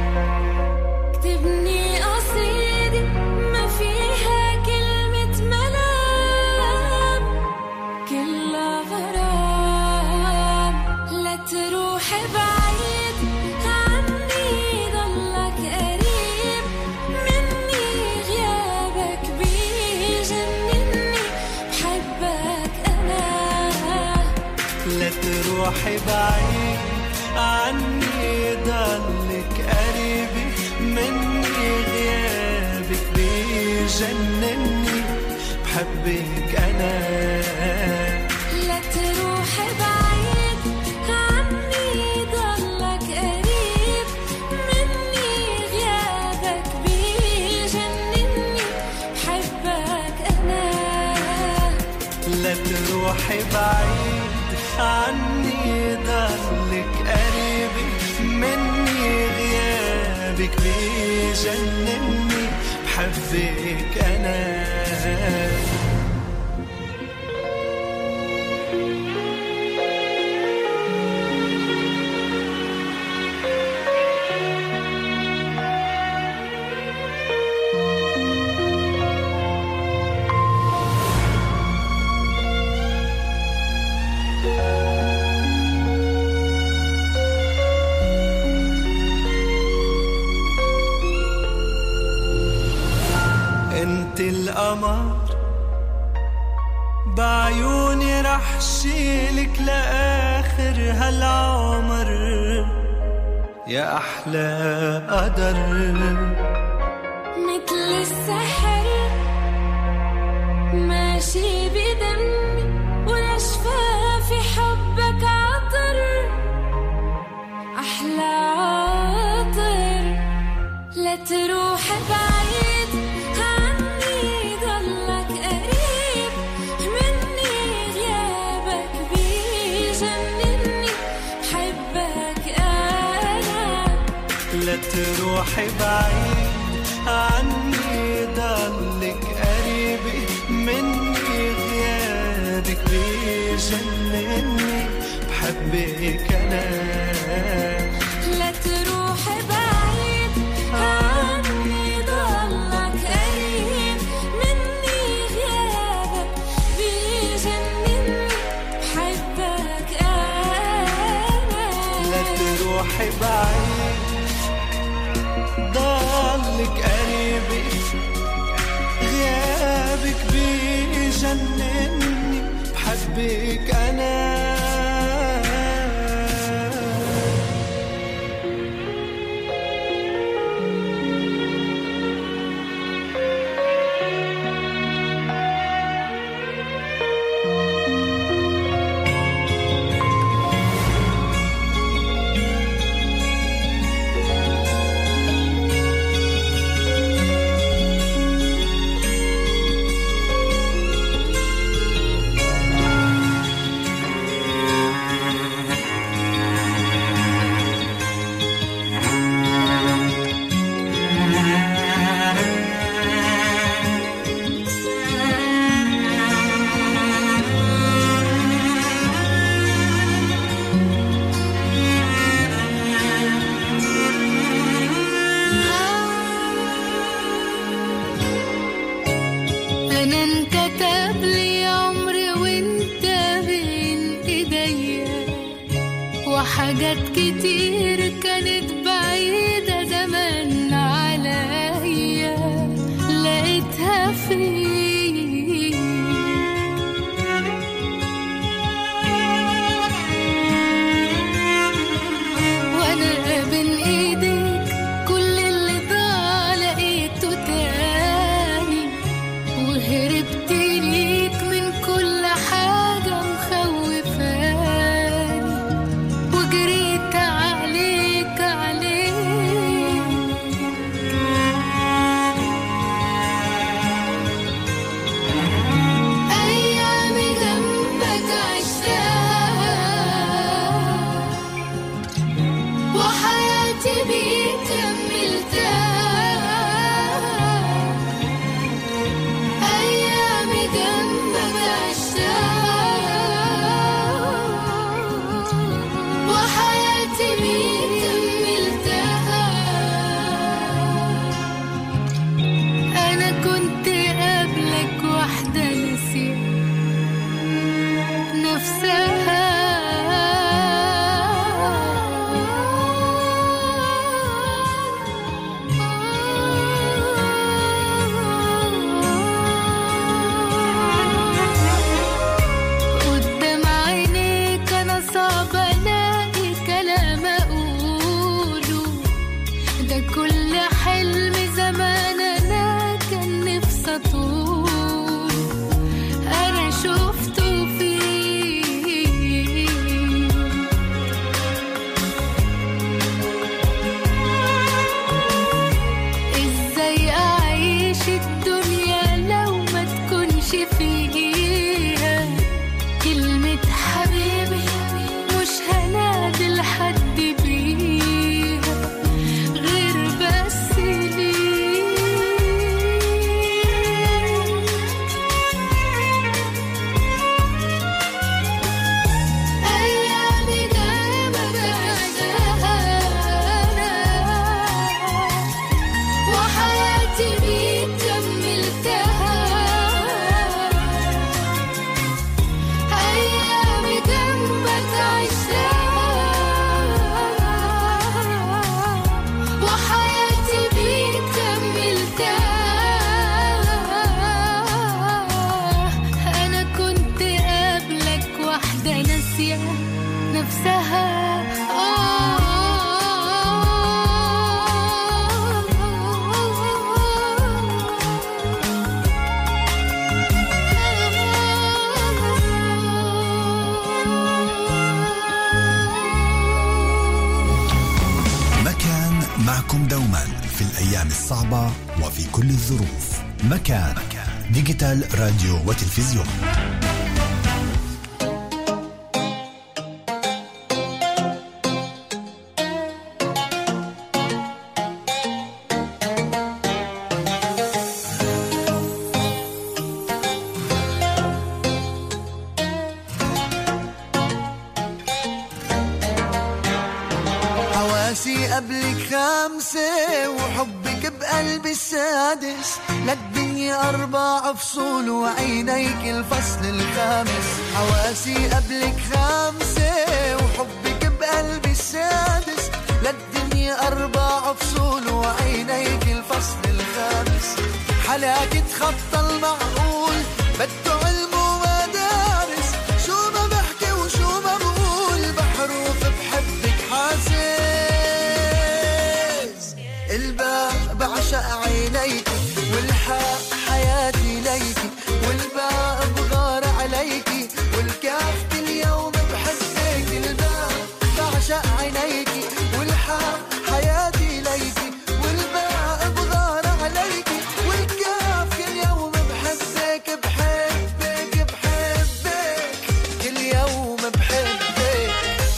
اكتبني قصيدة ما فيها كلمة ملام كلها غرام لا تروح بعيد عني ضلك قريب مني غيابك بيجنني بحبك أنا لا تروحي بعيد عني ضلك قريبي مني غيابك بيجنني بحبك أنا لا تروح بعيد عني ضلك قريب مني غيابك بيجنني بحبك أنا لا تروحي بعيد عني ضلك قريبي مني غيابك بيجنني بحبك أنا انت القمر بعيوني رح شيلك لآخر هالعمر يا أحلى قدر مثل السحر ماشي بدمي ولشفافي حبك عطر أحلى عطر لا تروح بعيد عني ضلك قريب مني غيابك بيجنني بحبك أنا لا تروحي بعيد عني ضلك قريبي مني غيابك بيجنني بحبك أنا تروحي بعيد ضلك قريبي غيابك بيجنني بحبك أنا حاجات كتير كانت بعيدة زمان عليا لقيتها فيك وانا بين ايديك كل اللي ضاع لقيته تاني وهربت ليك من كل حاجة مخوفاني وجريت عليك عليك أيامي جنبك عشتها وحياتي بيك كملتها أيامي جنبك عشتها وحياتي بيك كملتها أنا كنت قبلك واحدة نسيت نفسها قدام عينيك أنا صعب ألاقي كلام أقوله ده كل حلم زمان أنا كان نفسي أطول أنا شفته فيك إزاي أعيش الدنيا لو ما تكونش فيها كلمة حبيبي مش هنادي لحد بيها غير بس ليك أيامي جنبك عشتها وحياتي بيك كملتها أيامي جنبك عشتها وحياتي بيك كملتها أنا كنت قبلك واحدة ناسية نفسها مكان معكم دوما في الأيام الصعبة وفي كل الظروف. مكان ديجيتال راديو وتلفزيون. حواسي قبلك خمسة وحبك بقلبي السادس للدنيا أربع فصول وعينيك الفصل الخامس حواسي قبلك خمسة وحبك بقلبي السادس حلاك تخطى المعقول بده علم ومدارس شو ما بحكي وشو ما بقول بحروف بحبك حاسس الباء بعشق عينيك والحاء حياتي ليكي والباء بغار عليكي والكاف كل يوم بحبك الباء بعشق عينيكي والحاء حياتي ليكي والباء بغار عليكي والكاف كل يوم بحبك بحبك بحبك كل يوم بحبك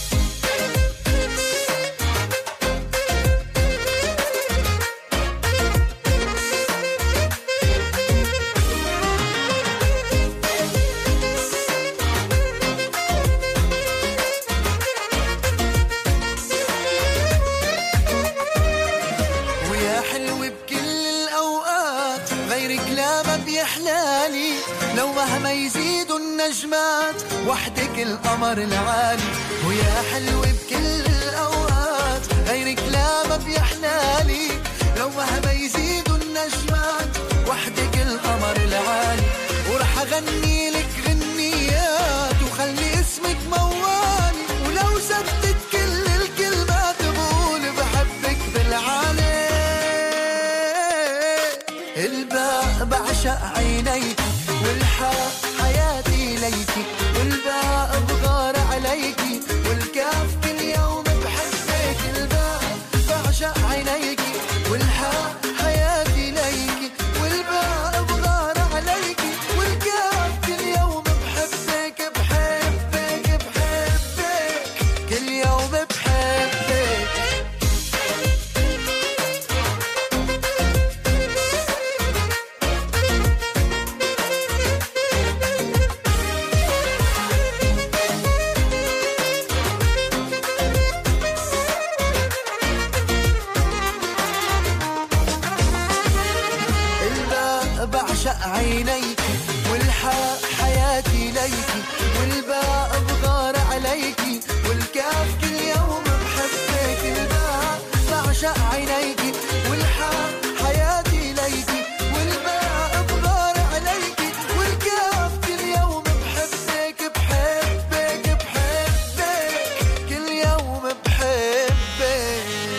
لو مهما يزيدوا النجمات وحدك القمر العالي ويا حلو بكل الأوقات غيرك لا ما بيحلالي لو مهما يزيدوا النجمات وحدك القمر العالي ورح أغني لك غنيات وخلي اسمك موالي ولو زدت كل الكلمات بقول بحبك بالعالي الباء بعشق عينيك والحاء حياتي ليكي والباء بغار عليكي والكاف كل يوم بحبك الباء بعشق عينيكي والحاء حياتي ليكي والباء بغار عليكي والكاف كل يوم بحبك بحبك بحبك كل يوم بحبك عينيكي والحاء حياتي ليكي والباء بغار عليكي والكاف كل يوم بحبك الباء بعشق عينيكي والحاء حياتي ليكي والباء بغار عليكي والكاف كل يوم بحبك بحبك بحبك كل يوم بحبك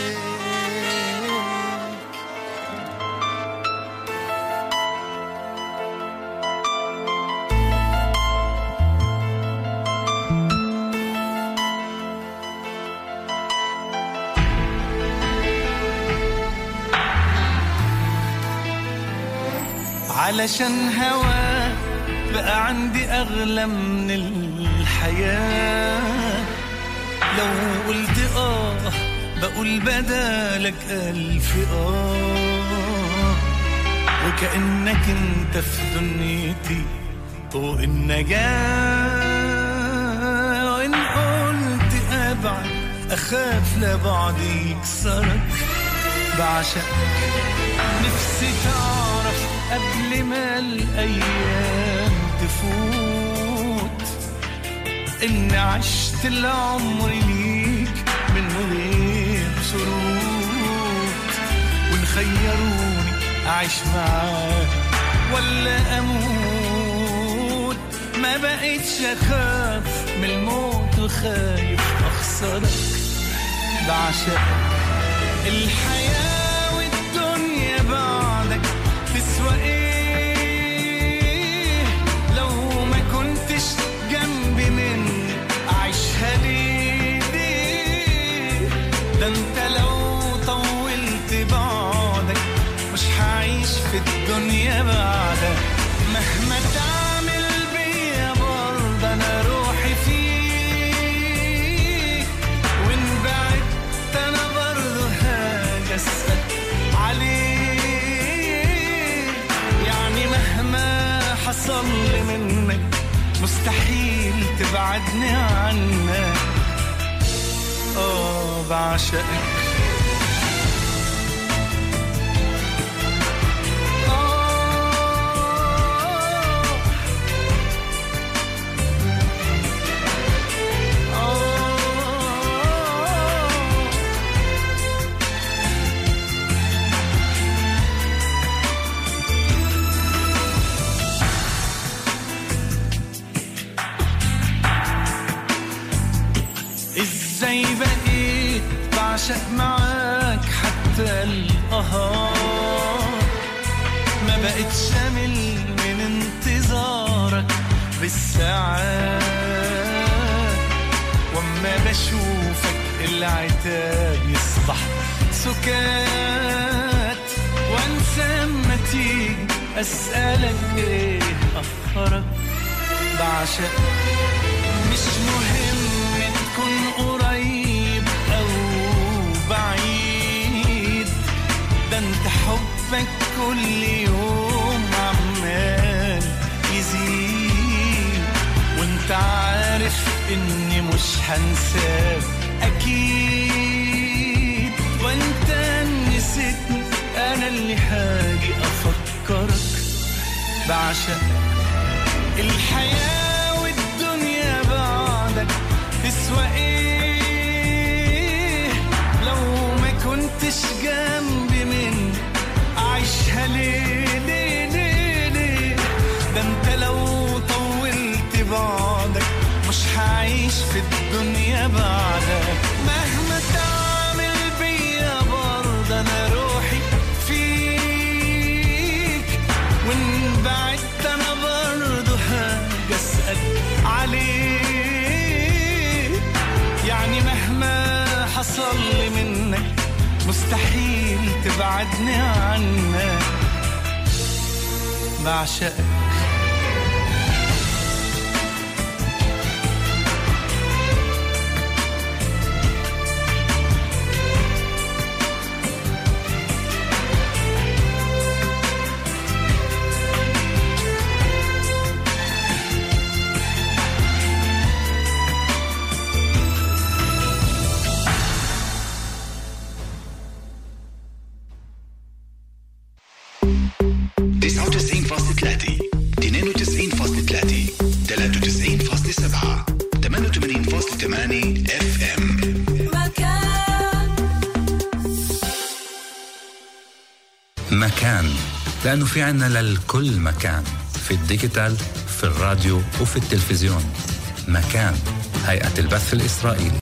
علشان هواك بقى عندي أغلى من الحياة لو قلت آه بقول بدالك ألف آه وكأنك انت في دنيتي طوق النجاة وإن قلت أبعد أخاف لبعض يكسرك بعشقك نفسي تعرف قبل ما الأيام تفوت إن عشت العمر ليك من غير شروط وإن خيروني أعيش معاك ولا أموت ما بقيتش أخاف من الموت وخايف أخسرك بعشقك الحياة والدنيا بعدك تسوى ايه لو ما كنتش جنبي مني اعيشها ليه ليه ده انت لو طولت بعدك مش هعيش في الدنيا بعدك مهما تعمل بيا برضه انا روحي فيك وان بعدت انا برضه هاجي اسأل عليك يعني مهما حصل لي منك مستحيل تبعدني عنك اه بعشقك زي بقيت بعشق معاك حتى القهار، ما بقيت شامل من انتظارك بالساعات، وما بشوفك العتاب يصبح سكات، وانسى ما تيجي اسألك ايه اخرك. بعشق مش مهم تكون قريب او بعيد، ده انت حبك كل يوم عمال يزيد، وانت عارف اني مش هنساك اكيد، وانت نسيتني انا اللي هاجي افكرك. بعشق الحياة والدنيا بعدك تسوى ايه، لو ما كنتش جنبي من عيشها ليه ليه ليه ليه، ده انت لو طولت بعدك مش هعيش في الدنيا بعدك. مهما تعمل بيا برضه انا روحي فيك، وان بعدت انا برضه هاجي اسأل عليك، يعني مهما حصل لي منك مستحيل تبعدني عنك. بعشقك تسعة وتسعين فاصلة ثلاثة اثنين وتسعين فاصلة ثلاثة ثلاثة وتسعين فاصلة سبعة ثمانية وثمانين فاصلة ثمانية اف ام. مكان، لأنه في عنا للكل مكان، في الديجيتال، في الراديو وفي التلفزيون. مكان، هيئة البث الإسرائيلي.